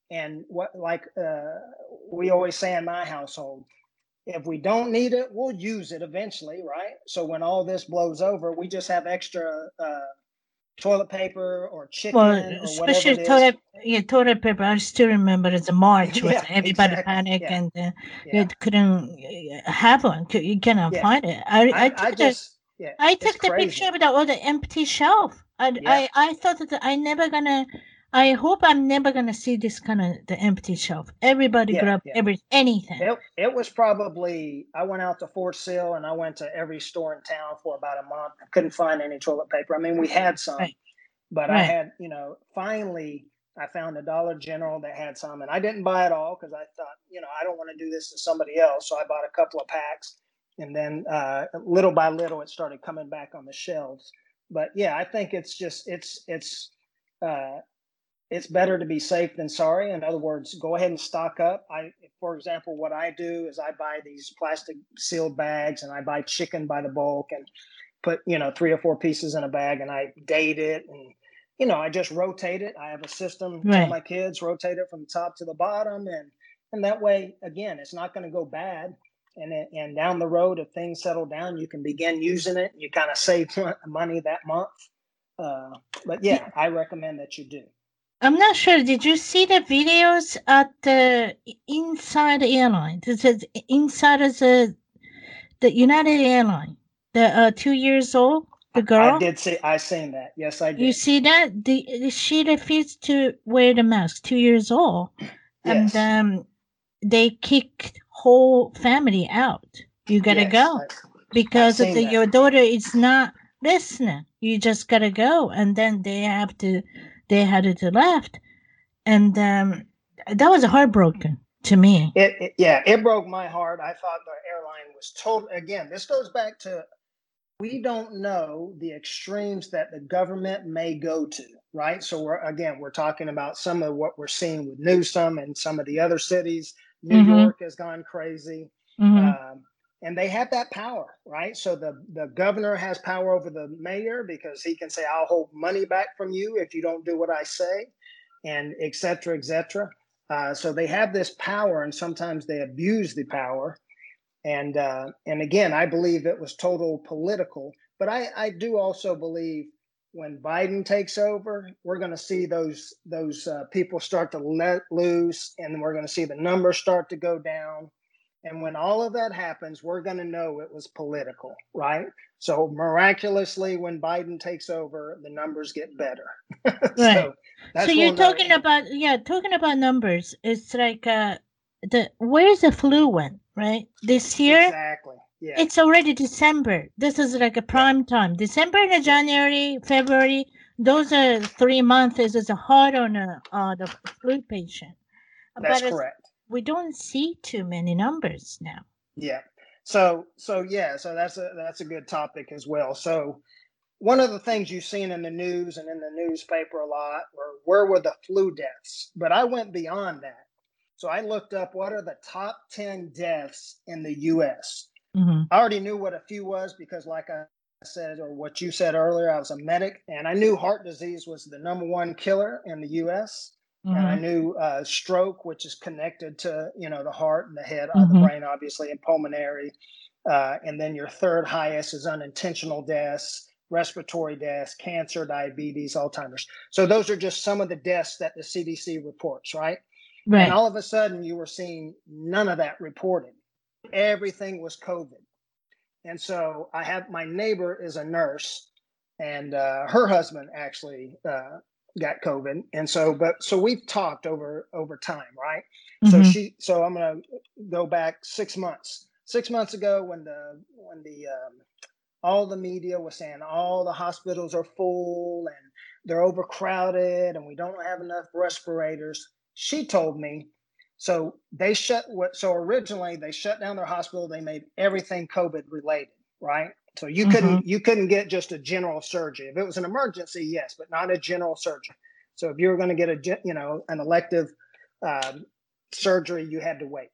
And what, like uh, we always say in my household, if we don't need it, we'll use it eventually, right? So when all this blows over, we just have extra uh, toilet paper or Well, chicken or whatever especially it is. toilet, yeah, toilet paper. I still remember it's a March where Yeah, everybody exactly. panicked Yeah, and uh, you yeah, couldn't uh, have one. Cou- You cannot yeah. find it. I I I, I took the just, yeah, I it's took the picture crazy. of the all the empty shelf. I Yeah. I I thought that I never gonna. I hope I'm never gonna see this kind of the empty shelf. Everybody Yeah, grab yeah. every anything. It, it was probably, I went out to Fort Sill and I went to every store in town for about a month. I couldn't find any toilet paper. I mean, we had some, Right, but I right. had, you know, finally I found a Dollar General that had some, and I didn't buy it all because I thought, you know, I don't want to do this to somebody else. So I bought a couple of packs, and then uh, little by little it started coming back on the shelves. But yeah, I think it's just it's it's uh, it's better to be safe than sorry. In other words, go ahead and stock up. I, for example, what I do is I buy these plastic sealed bags, and I buy chicken by the bulk and put, you know, three or four pieces in a bag, and I date it, and you know, I just rotate it. I have a system, tell Right. my kids rotate it from the top to the bottom, and and that way, again, it's not going to go bad. And it, and down the road, if things settle down, you can begin using it. You kind of save money that month. Uh, but Di- yeah, I recommend that you do. I'm not sure. Did you see the videos at the inside airline? This is inside of the the United Airline. The uh, two years old, I, the I girl. did see, I seen that. Yes, I You did. see that? The, she refused to wear the mask. Two years old, and Yes, um, they kicked whole family out. You gotta yes, go I, I because of seen the, that. your daughter is not listening. You just gotta go, and then they have to. They had to left, and um, that was heartbroken to me. It, it, yeah, it broke my heart. I thought the airline was total. Again, this goes back to, we don't know the extremes that the government may go to, right? So we're, again, we're talking about some of what we're seeing with Newsom and some of the other cities. New Mm-hmm. York has gone crazy. Mm-hmm. Um, and they have that power, right? So the, the governor has power over the mayor because he can say, I'll hold money back from you if you don't do what I say, and et cetera, et cetera. Uh, so they have this power, and sometimes they abuse the power. And uh, and again, I believe it was total political. But I, I do also believe when Biden takes over, we're going to see those those uh, people start to let loose, and we're going to see the numbers start to go down. And when all of that happens, we're going to know it was political, right? So miraculously, when Biden takes over, the numbers get better. Right. So So that's you're we'll know. talking about, yeah, talking about numbers. It's like uh the where's the flu went, right? This year Exactly. Yeah. it's already December. This is like a Yeah. prime time. December and Yeah. January, February, those are three months is is hard on a, uh the flu patient. That's But it's, correct. we don't see too many numbers now. Yeah. So so yeah, so that's a that's a good topic as well. So one of the things you've seen in the news and in the newspaper a lot were, where were the flu deaths? But I went beyond that. So I looked up what are the top ten deaths in the U S. Mm-hmm. I already knew what a few was because, like I said, or what you said earlier, I was a medic, and I knew heart disease was the number one killer in the U S. And I Mm-hmm. knew uh, stroke, which is connected to, you know, the heart and the head, uh, the Mm-hmm. brain, obviously, and pulmonary. Uh, and then your third highest is unintentional deaths, respiratory deaths, cancer, diabetes, Alzheimer's. So those are just some of the deaths that the C D C reports, right? And Right. all of a sudden, you were seeing none of that reported. Everything was COVID. And so I have, my neighbor is a nurse, and uh, her husband actually uh, got COVID. And so, but so we've talked over over time, right? So Mm-hmm. she, so I'm gonna go back six months. Six months ago, when the when the um, all the media was saying all the hospitals are full and they're overcrowded and we don't have enough respirators, she told me, so they shut what so originally they shut down their hospital, they made everything COVID related, right? So you Mm-hmm. couldn't you couldn't get just a general surgery. If it was an emergency, yes, but not a general surgery. So if you were going to get a you know an elective um, surgery, you had to wait.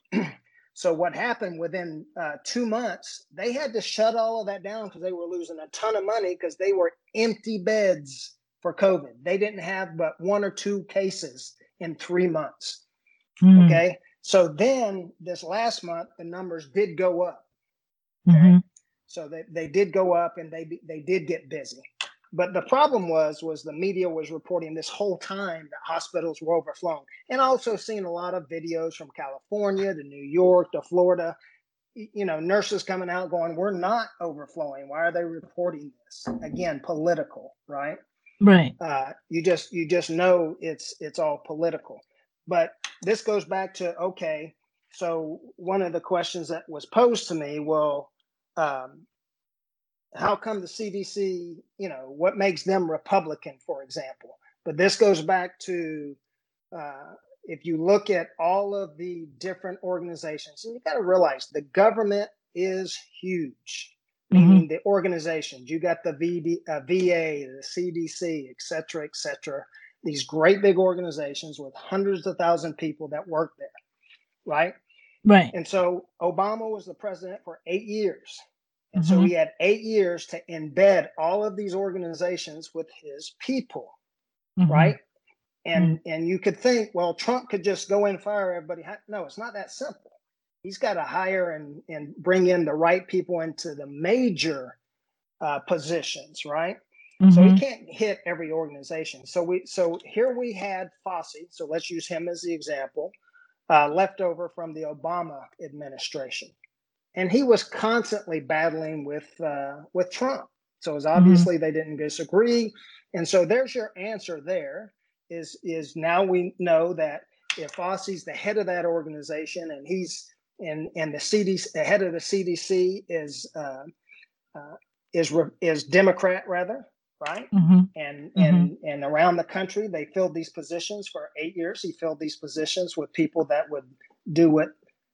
So what happened within uh, two months, they had to shut all of that down because they were losing a ton of money because they were empty beds for COVID. They didn't have but one or two cases in three months. Mm. Okay. So then this last month, the numbers did go up. Okay. Mm-hmm. So they, they did go up and they they did get busy. But the problem was, was the media was reporting this whole time that hospitals were overflowing. And also seeing a lot of videos from California to New York to Florida, you know, nurses coming out going, we're not overflowing. Why are they reporting this? Again, political, right? Right. Uh, you just you just know it's it's all political. But this goes back to, okay, so one of the questions that was posed to me, well, um, how come the C D C, you know, what makes them Republican, for example? But this goes back to, uh, if you look at all of the different organizations, and you got to realize the government is huge, Mm-hmm. meaning the organizations. You got the V D, uh, V A, the C D C, et cetera, et cetera. These great big organizations with hundreds of thousands of people that work there, right? Right. And so Obama was the president for eight years. And Mm-hmm. so he had eight years to embed all of these organizations with his people, Mm-hmm. right? And Mm-hmm. and you could think, well, Trump could just go in and fire everybody. No, it's not that simple. He's got to hire and, and bring in the right people into the major uh, positions, right? Mm-hmm. So he can't hit every organization. So we so here we had Fauci. So let's use him as the example, uh, left over from the Obama administration. And he was constantly battling with uh, with Trump. So it was obviously mm-hmm. they didn't disagree. And so there's your answer there is, is now we know that if Fauci's the head of that organization and he's and and the C D C, the head of the C D C is uh, uh, is is Democrat rather, right? Mm-hmm. And mm-hmm. and and around the country they filled these positions for eight years. He filled these positions with people that would do what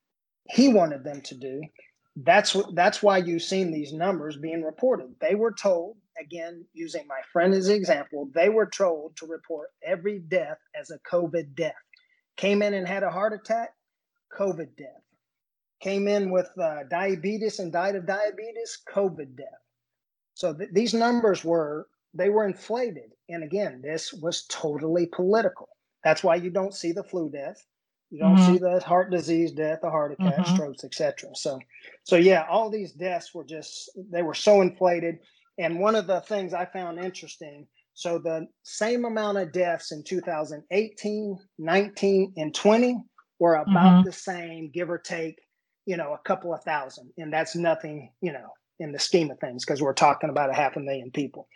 he wanted them to do. That's what. That's why you've seen these numbers being reported. They were told, again, using my friend as an example, they were told to report every death as a COVID death. Came in and had a heart attack, COVID death. Came in with uh, diabetes and died of diabetes, COVID death. So th- these numbers were, they were inflated. And again, this was totally political. That's why you don't see the flu death. You don't mm-hmm. see the heart disease death, the heart attack, mm-hmm. strokes, et cetera. So, so yeah, all these deaths were just, they were so inflated. And one of the things I found interesting, so the same amount of deaths in two thousand eighteen, nineteen, and twenty were about mm-hmm. the same, give or take, you know, a couple of thousand. And that's nothing, you know, in the scheme of things, because we're talking about a half a million people.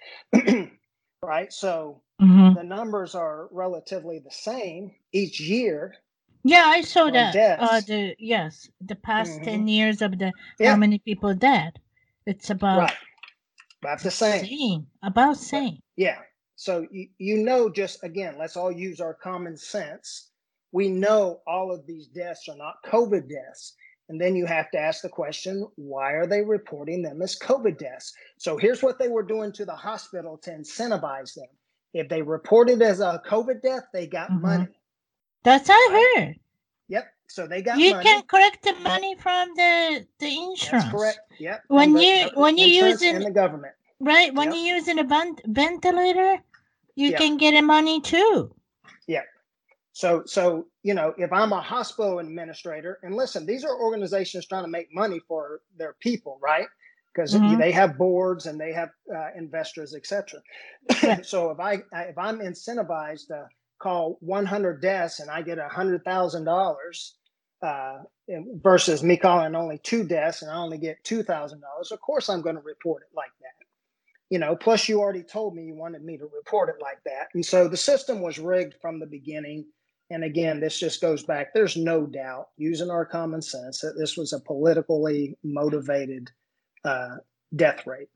Right? So mm-hmm. the numbers are relatively the same each year. Yeah, I saw that. Uh, the yes, the past mm-hmm. ten years of the yeah. how many people dead. It's about right. about the same. same. About same. But, yeah. So you, you know, just again, let's all use our common sense. We know all of these deaths are not COVID deaths. And then you have to ask the question, why are they reporting them as COVID deaths? So here's what they were doing to the hospital to incentivize them. If they reported as a COVID death, they got mm-hmm. money. That's I heard. Yep. So they got you money. can collect the money from the the insurance. That's correct. Yep. When the, you when you using and the government. Right. When yep. you're using a vent- ventilator, you yep. can get a money too. Yeah. So so you know, if I'm a hospital administrator, and listen, these are organizations trying to make money for their people, right? Because mm-hmm. they have boards and they have uh, investors, et cetera. Yeah. So if I if I'm incentivized to call one hundred deaths and I get one hundred thousand dollars uh, versus me calling only two deaths and I only get two thousand dollars, of course I'm going to report it like that. You know, plus you already told me you wanted me to report it like that. And so the system was rigged from the beginning. And again, this just goes back. There's no doubt, using our common sense, that this was a politically motivated uh, death rate.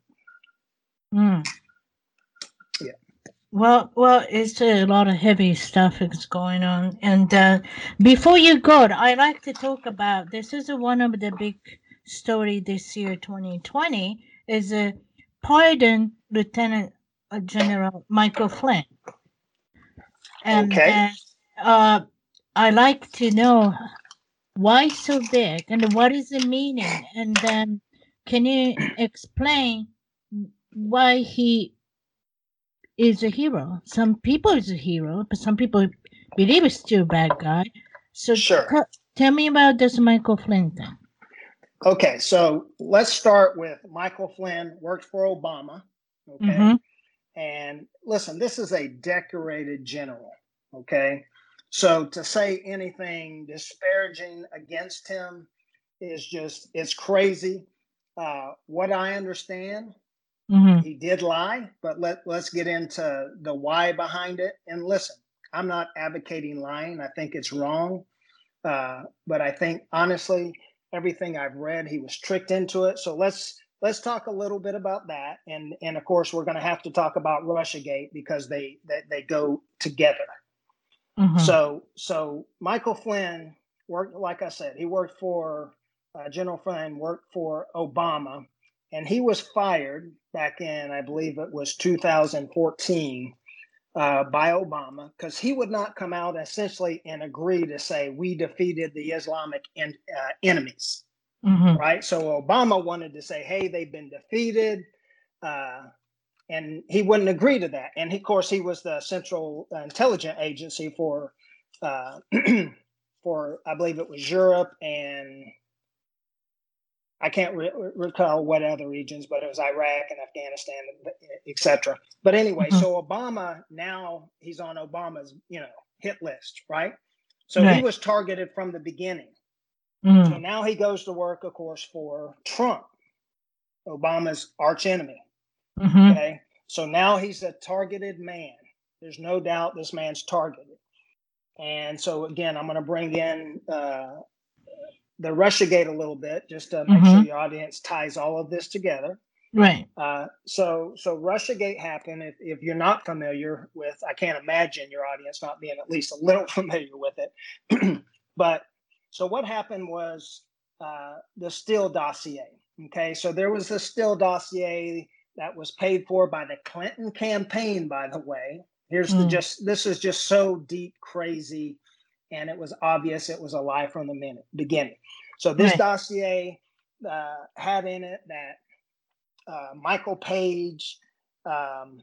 Mm. Yeah. Well, well, it's a lot of heavy stuff is going on. And uh, before you go, I like to talk about, this is a, one of the big story this year, twenty twenty, is a pardon Lieutenant General Michael Flynn. And, okay. Uh, uh, I like to know why so big and what is the meaning? And then can you explain why he is a hero? Some people is a hero, but some people believe is still a bad guy. So Sure. t- tell me about this Michael Flynn thing. Okay, so let's start with Michael Flynn worked for Obama. Okay. Mm-hmm. And listen, this is a decorated general. Okay. So to say anything disparaging against him is just, it's crazy. Uh, what I understand, Mm-hmm. he did lie, but let, let's get into the why behind it. And listen, I'm not advocating lying. I think it's wrong. Uh, but I think honestly, everything I've read, he was tricked into it. So let's let's talk a little bit about that. And and of course, we're going to have to talk about Russiagate because they they, they go together. Mm-hmm. So so Michael Flynn worked, like I said, he worked for uh, General Flynn worked for Obama, and he was fired back in, I believe it was two thousand fourteen. Uh, by Obama, because he would not come out essentially and agree to say we defeated the Islamic en- uh, enemies, Mm-hmm. right? So Obama wanted to say, hey, they've been defeated, uh, and he wouldn't agree to that. And of course, he was the Central Intelligence Agency for, uh, for I believe it was Europe and I can't re- recall what other regions, but it was Iraq and Afghanistan, et cetera. But anyway, Mm-hmm. so Obama, now he's on Obama's, you know, hit list, right? So Right. he was targeted from the beginning. Mm-hmm. So now he goes to work, of course, for Trump, Obama's arch enemy. Mm-hmm. Okay. So now he's a targeted man. There's no doubt this man's targeted. And so again, I'm going to bring in uh, the Russiagate a little bit just to make Mm-hmm. sure your audience ties all of this together. Right. Uh, so, so Russiagate happened. If, if you're not familiar with, I can't imagine your audience not being at least a little familiar with it. But so what happened was uh, the Steele dossier. Okay, so there was a Steele dossier that was paid for by the Clinton campaign. By the way, here's the Mm. just. This is just so deep, crazy, and it was obvious it was a lie from the minute, beginning. So this Right. dossier uh, had in it that. Uh, Michael Page um,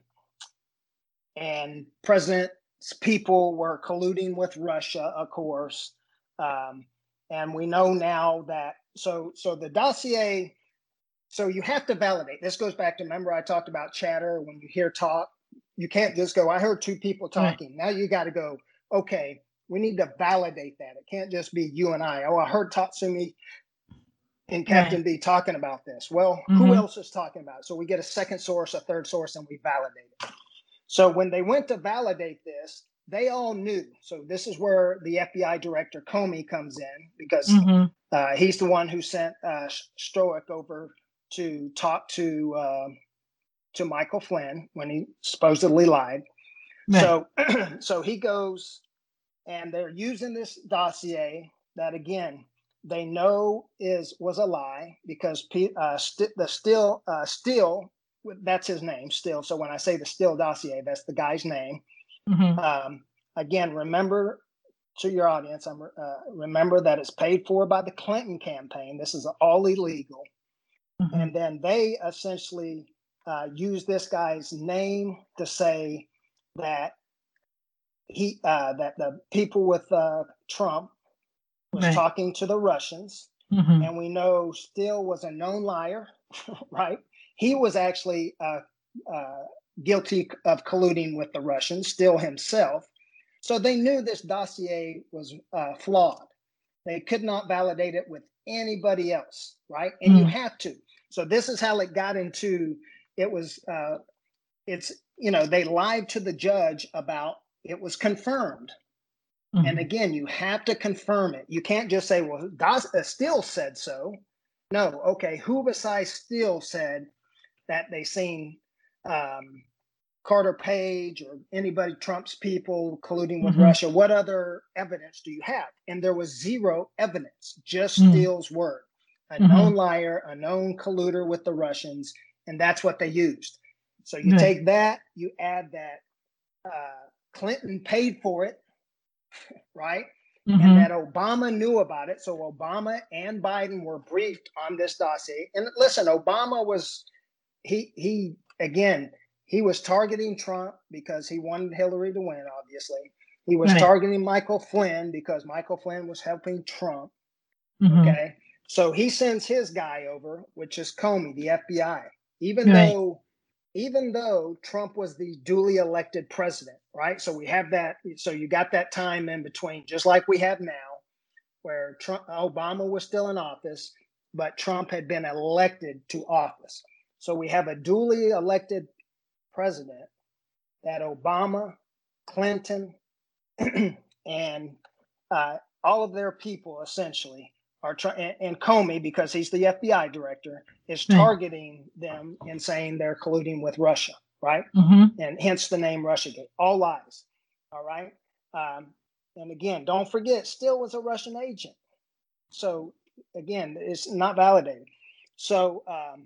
and President's people were colluding with Russia, of course. Um, and we know now that, so so the dossier, so you have to validate. This goes back to, remember I talked about chatter, when you hear talk, you can't just go, I heard two people talking. Right. Now you got to go, okay, we need to validate that. It can't just be you and I. Oh, I heard Tatsumi and Captain right. B talking about this. Well, mm-hmm. who else is talking about it? So we get a second source, a third source, and we validate it. So when they went to validate this, they all knew. So this is where the F B I director Comey comes in, because mm-hmm. uh, he's the one who sent uh, Strzok over to talk to uh, to Michael Flynn when he supposedly lied. Right. So so he goes, and they're using this dossier that, again, they know is was a lie, because uh, st- the Steele uh, Steele, that's his name, Steele. So when I say the Steele dossier, that's the guy's name. Mm-hmm. Um, again, remember, to your audience, I'm, uh, remember that it's paid for by the Clinton campaign. This is all illegal. Mm-hmm. And then they essentially uh, use this guy's name to say that he uh, that the people with uh, Trump was right. talking to the Russians. Mm-hmm. And we know Steele was a known liar, right? He was actually uh, uh, guilty of colluding with the Russians, Steele himself. So they knew this dossier was uh, flawed. They could not validate it with anybody else, right? And mm-hmm. you have to. So this is how it got into, it was, uh, it's, you know, they lied to the judge about, it was confirmed. Mm-hmm. And again, you have to confirm it. You can't just say, well, Das- uh, Steele said so. No, okay, who besides Steele said that they seen um, Carter Page or anybody, Trump's people colluding with mm-hmm. Russia? What other evidence do you have? And there was zero evidence, just mm-hmm. Steele's word. A mm-hmm. known liar, a known colluder with the Russians, and that's what they used. So you mm-hmm. take that, you add that uh, Clinton paid for it, right? Mm-hmm. And that Obama knew about it. So Obama and Biden were briefed on this dossier. And listen, Obama was, he, he again, he was targeting Trump because he wanted Hillary to win, obviously. He was Right. targeting Michael Flynn because Michael Flynn was helping Trump. Mm-hmm. Okay. So he sends his guy over, which is Comey, the F B I, even Right. though even though Trump was the duly elected president, right? So we have that. So you got that time in between, just like we have now, where Trump, Obama was still in office, but Trump had been elected to office. So we have a duly elected president that Obama, Clinton, and uh, all of their people essentially are trying, and, and Comey, because he's the F B I director, is Right. targeting them and saying they're colluding with Russia, right? Mm-hmm. And hence the name Russiagate. All lies, all right? Um, and again, don't forget, Steele was a Russian agent. So again, it's not validated. So, um,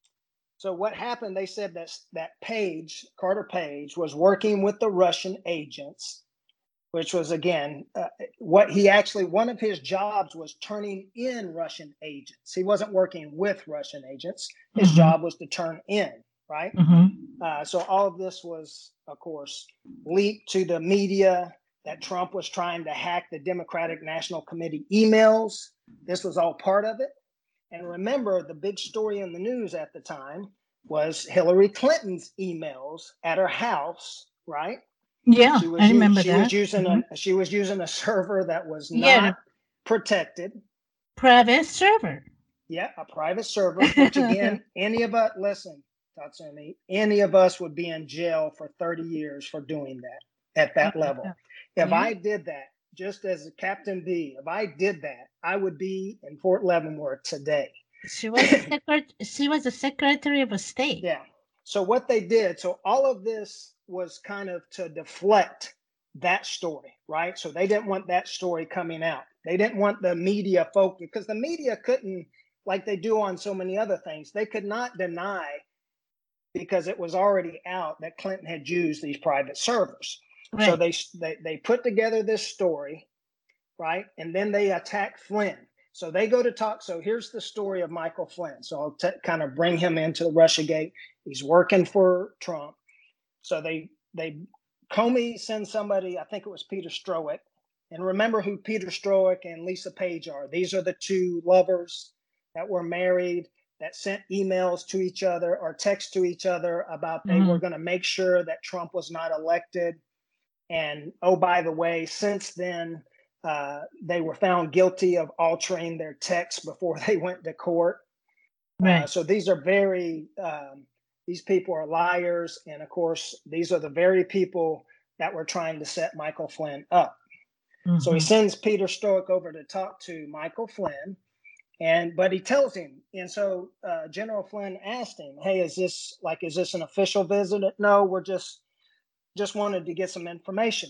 so what happened? They said that that Page, Carter Page, was working with the Russian agents, which was again uh, what he actually, one of his jobs was turning in Russian agents. He wasn't working with Russian agents. His Mm-hmm. job was to turn in, right? Mm-hmm. Uh, so all of this was, of course, leaked to the media that Trump was trying to hack the Democratic National Committee emails. This was all part of it. And remember, the big story in the news at the time was Hillary Clinton's emails at her house, right? Yeah, She was I remember she that. was using Mhm. a she was using a server that was Yeah, not protected. private server. Yeah, a private server, which again, any of us, listen, Tatsumi, any of us would be in jail for thirty years for doing that at that Uh, level. If yeah. I did that, just as Captain B, if I did that, I would be in Fort Leavenworth today. She was a secret. She was a Secretary of State. Yeah. So what they did, so all of this was kind of to deflect that story, right? So they didn't want that story coming out. They didn't want the media focus, because the media couldn't, like they do on so many other things, they could not deny, because it was already out, that Clinton had used these private servers. Right. So they, they they put together this story, right? And then they attack Flynn. So they go to talk. So here's the story of Michael Flynn. So I'll t- kind of bring him into the Russiagate. He's working for Trump. So they they Comey sends somebody, I think it was Peter Strzok. And remember who Peter Strzok and Lisa Page are. These are the two lovers that were married, that sent emails to each other or text to each other about they Mhm. were going to make sure that Trump was not elected. And oh, by the way, since then, uh, they were found guilty of altering their text before they went to court. Right. Uh, so these are very, um, these people are liars. And of course, these are the very people that were trying to set Michael Flynn up. Mhm. So he sends Peter Strzok over to talk to Michael Flynn. And but he tells him, and so uh, General Flynn asked him, "Hey, is this like, is this an official visit?" No, we're just just wanted to get some information.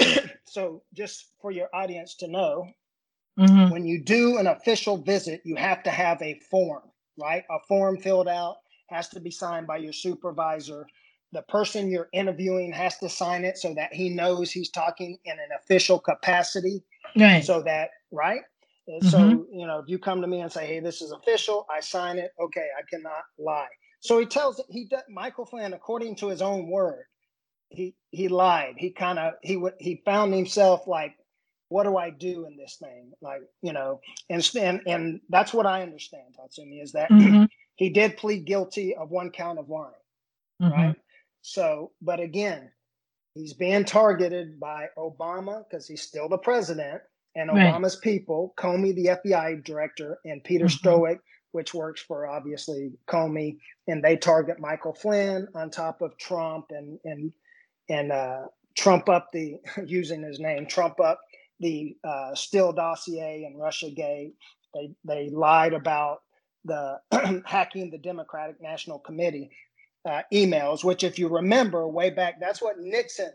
So just for your audience to know, Mhm. when you do an official visit, you have to have a form, right? A form filled out, has to be signed by your supervisor. The person you're interviewing has to sign it so that he knows he's talking in an official capacity. Right. So that, right? And Mhm. so, you know, if you come to me and say, "Hey, this is official," I sign it. Okay, I cannot lie. So he tells he Michael Flynn, according to his own word, he he lied. He kind of he would he found himself like, what do I do in this thing? Like, you know, and and, and that's what I understand, Tatsumi, is that Mhm. he did plead guilty of one count of lying, Mhm. right? So, but again, he's being targeted by Obama because he's still the president, and Right. Obama's people, Comey, the F B I director, and Peter Mhm. Strzok, which works for obviously Comey, and they target Michael Flynn on top of Trump and and and uh, Trump up the, using his name, Trump up the uh, Steele dossier and Russiagate. They they lied about the hacking the Democratic National Committee uh, emails, which, if you remember way back, that's what Nixon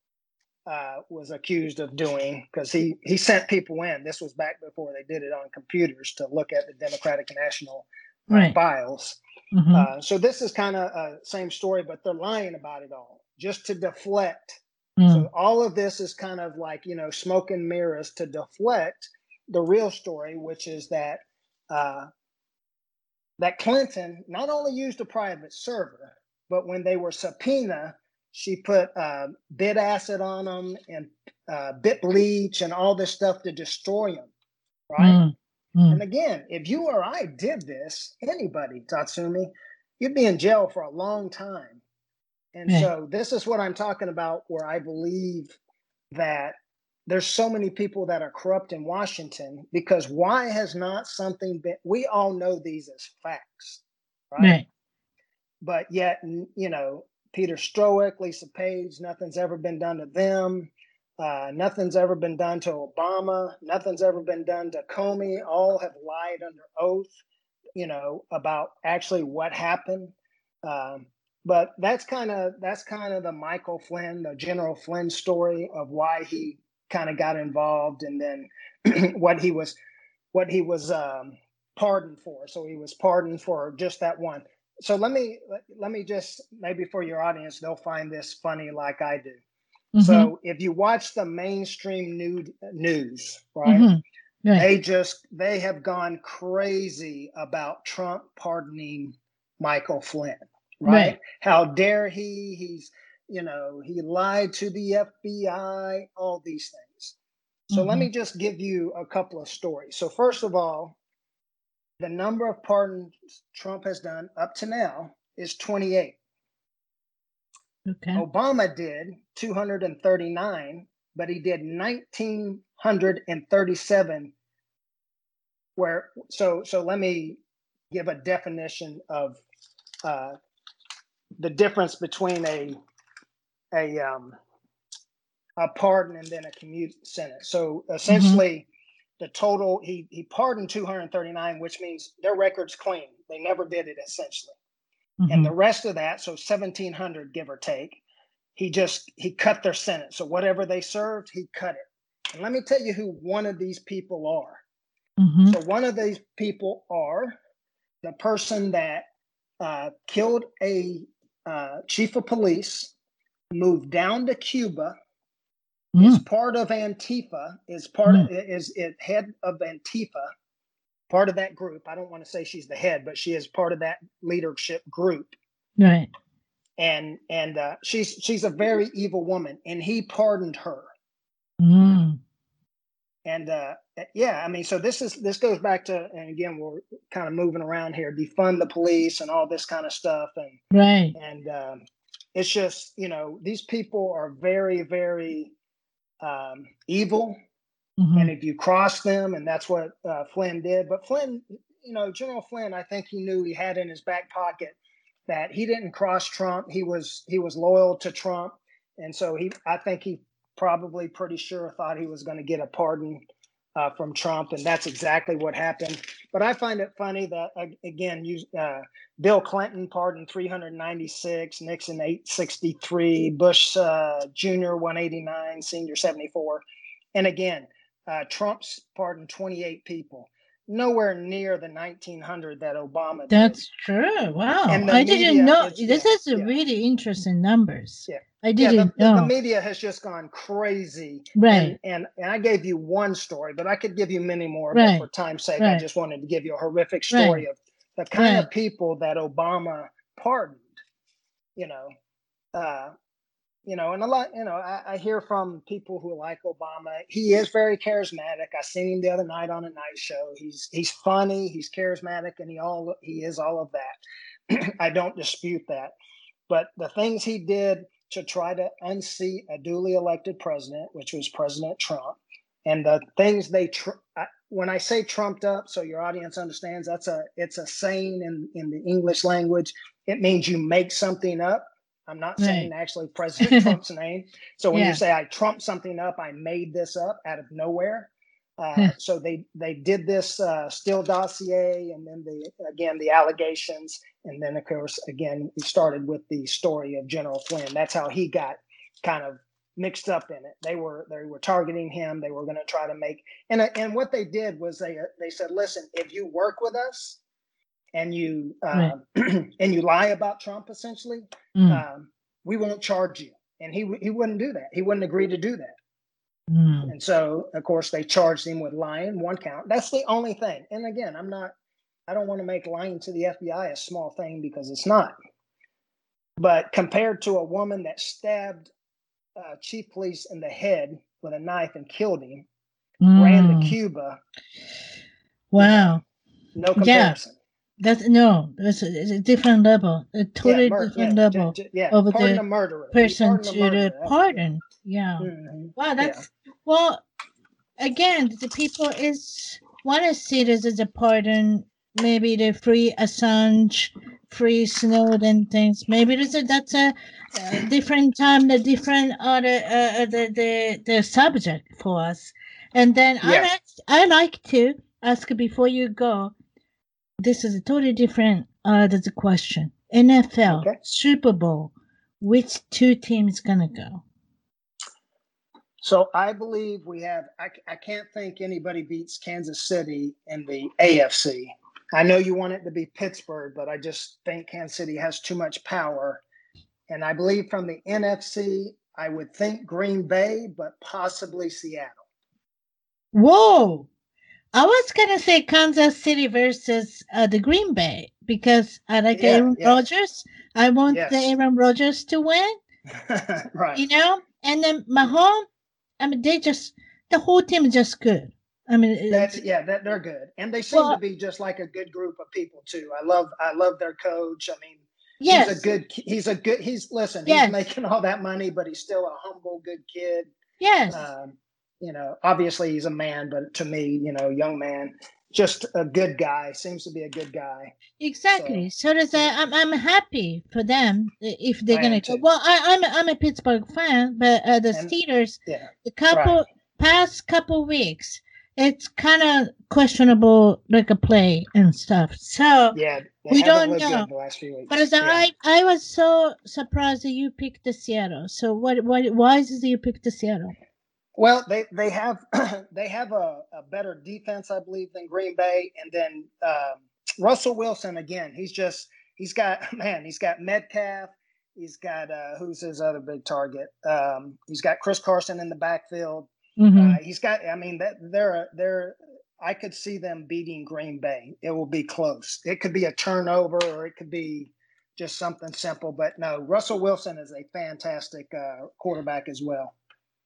uh, was accused of doing, because he he sent people in. This was back before they did it on computers to look at the Democratic National uh, Right. files. Mhm. Uh, so this is kind of uh, same story, but they're lying about it all just to deflect. Mm. So all of this is kind of like, you know, smoke and mirrors to deflect the real story, which is that uh, that Clinton not only used a private server, but when they were subpoena She put uh, bit acid on them and uh, bit bleach and all this stuff to destroy them, right? Mm, mm, And again, if you or I did this, anybody, Tatsumi, you'd be in jail for a long time. And right, so this is what I'm talking about, where I believe that there's so many people that are corrupt in Washington, because why has not something been, we all know these as facts, right? right. But yet, you know, Peter Strzok, Lisa Page, nothing's ever been done to them. Uh, nothing's ever been done to Obama. Nothing's ever been done to Comey. All have lied under oath, you know, about actually what happened. Um, but that's kind of that's kind of the Michael Flynn, the General Flynn story of why he kind of got involved, and then what he was what he was um, pardoned for. So he was pardoned for just that one. So let me let me just, maybe for your audience, they'll find this funny like I do. Mm-hmm. So if you watch the mainstream nude, news, right, Mm-hmm. Right. they just they have gone crazy about Trump pardoning Michael Flynn, right? Right. How dare he? He's, you know, he lied to the F B I, all these things. So Mm-hmm. let me just give you a couple of stories. So first of all, the number of pardons Trump has done up to now is twenty-eight. Okay. Obama did two hundred thirty-nine, but he did one thousand nine hundred thirty-seven. Where so so let me give a definition of uh, the difference between a a um, a pardon and then a commute sentence. So essentially, mm-hmm. the total, he he pardoned two hundred thirty-nine, which means their record's clean. They never did it, essentially. Mm-hmm. And the rest of that, so seventeen hundred, give or take, he just, he cut their sentence. So whatever they served, he cut it. And let me tell you who one of these people are. Mm-hmm. So one of these people are the person that uh, killed a uh, chief of police, moved down to Cuba, mm. is part of Antifa, is part mm. of, is it head of Antifa, part of that group. I don't want to say she's the head, but she is part of that leadership group. Right. And and uh, she's she's a very evil woman, and he pardoned her. Mm. And uh, yeah, I mean, so this is this goes back to, and again, we're kind of moving around here, defund the police and all this kind of stuff, and right. And um, it's just, you know, these people are very, very um, evil. Mm-hmm. And if you cross them, and that's what uh, Flynn did. But Flynn, you know, General Flynn, I think he knew he had in his back pocket that he didn't cross Trump. He was he was loyal to Trump. And so he, I think he probably pretty sure thought he was going to get a pardon uh, from Trump. And that's exactly what happened. But I find it funny that, uh, again, you, uh, Bill Clinton pardoned three hundred ninety-six, Nixon eight sixty-three, Bush uh, Junior one eighty-nine, Senior seventy-four. And again, uh, Trump's pardoned twenty-eight people. Nowhere near the nineteen hundred that Obama did. That's true. Wow. And I didn't know. Is, this yeah, is a yeah. really interesting numbers. Yeah. I didn't yeah, the, know. The media has just gone crazy. Right. And, and, and I gave you one story, but I could give you many more. Right. But for time's sake, right. I just wanted to give you a horrific story right. of the kind right. of people that Obama pardoned, you know. Uh, You know, and a lot, you know, I, I hear from people who like Obama. He is very charismatic. I seen him the other night on a night show. He's he's funny, he's charismatic, and he all he is all of that. I don't dispute that. But the things he did to try to unseat a duly elected president, which was President Trump, and the things they tr- I, when I say trumped up, so your audience understands, that's a it's a saying in in the English language. It means you make something up. I'm not saying right. actually President Trump's name. So when yeah. you say I trumped something up, I made this up out of nowhere. Uh, so they they did this uh, Steele dossier, and then the again the allegations, and then of course again we started with the story of General Flynn. That's how he got kind of mixed up in it. They were they were targeting him. They were going to try to make and and what they did was they they said, listen, if you work with us, and you uh, right. and you lie about Trump, essentially, mm. um, we won't charge you. And he he wouldn't do that. He wouldn't agree to do that. Mm. And so, of course, they charged him with lying, one count. That's the only thing. And again, I'm not, I don't want to make lying to the F B I a small thing, because it's not. But compared to a woman that stabbed uh, Chief Police in the head with a knife and killed him, mm. ran to Cuba. Wow. You know, no comparison. Yeah. That's no, it's a, it's a different level, a totally yeah, mur- different yeah, level j- j- yeah. of pardon the murderer. person to the the pardon. Yeah. Mm-hmm. Wow, that's yeah. well. Again, the people is want to see this as a pardon. Maybe they free Assange, free Snowden things. Maybe there's a, that's a, a different time, the different other uh, the the the subject for us. And then yeah. I I like to ask before you go. This is a totally different uh there's a question. N F L, okay. Super Bowl, which two teams gonna go? So I believe we have, I, I can't think anybody beats Kansas City in the A F C. I know you want it to be Pittsburgh, but I just think Kansas City has too much power. And I believe from the N F C, I would think Green Bay, but possibly Seattle. Whoa. I was going to say Kansas City versus uh, the Green Bay because I like yeah, Aaron yeah. Rodgers. I want yes. the Aaron Rodgers to win. Right. You know? And then Mahomes, I mean, they just, the whole team is just good. I mean, that's, yeah, that they're good. And they seem well, to be just like a good group of people too. I love, I love their coach. I mean, yes. he's a good, he's a good, he's, listen, yes. he's making all that money, but he's still a humble, good kid. Yes. Um, You know, obviously he's a man, but to me, you know, young man, just a good guy, seems to be a good guy. Exactly. So, so does yeah. I, I'm I'm happy for them if they're going to go. Well, I, I'm, a, I'm a Pittsburgh fan, but uh, the and, Steelers, yeah, the couple right. past couple weeks, it's kind of questionable, like a play and stuff. So yeah, we don't know. The last few weeks. But as yeah. I, I was so surprised that you picked the Seattle. So what, what, why is it you picked the Seattle? Well, they they have they have a, a better defense, I believe, than Green Bay, and then um, Russell Wilson again. He's just he's got man. He's got Metcalf. He's got uh, who's his other big target? Um, he's got Chris Carson in the backfield. Mm-hmm. Uh, he's got. I mean, that they're they're. I could see them beating Green Bay. It will be close. It could be a turnover, or it could be just something simple. But no, Russell Wilson is a fantastic uh, quarterback as well.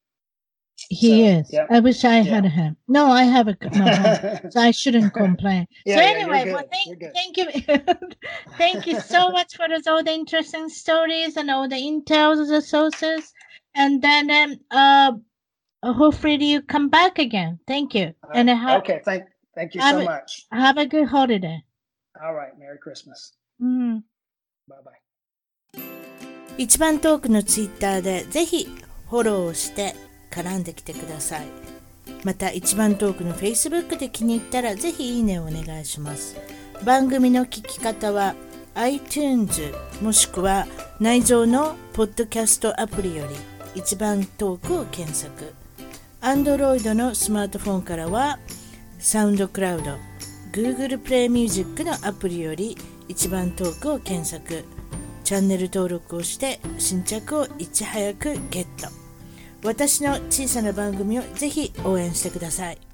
He so, is. Yep. I wish I yeah. had him. No, I have a no, so I shouldn't complain. yeah, so yeah, anyway, well, thank, thank you, thank you so much for those, all the interesting stories and all the intels of the sources. And then, um, uh, hopefully you come back again. Thank you. Uh, and have, okay, thank, thank you so a, much. Have a good holiday. All right, Merry Christmas. Mm. Bye bye. 一番トークのツイッターでぜひフォローして絡んできてください。また一番トークの Facebook で気に入ったらぜひいいねをお願いします。番組の聞き方は iTunes もしくは内蔵のポッドキャストアプリより一番トークを検索。Android のスマートフォンからは SoundCloud、Google Play Music のアプリより一番トークを検索。チャンネル登録をして新着をいち早くゲット。私の小さな番組をぜひ応援してください。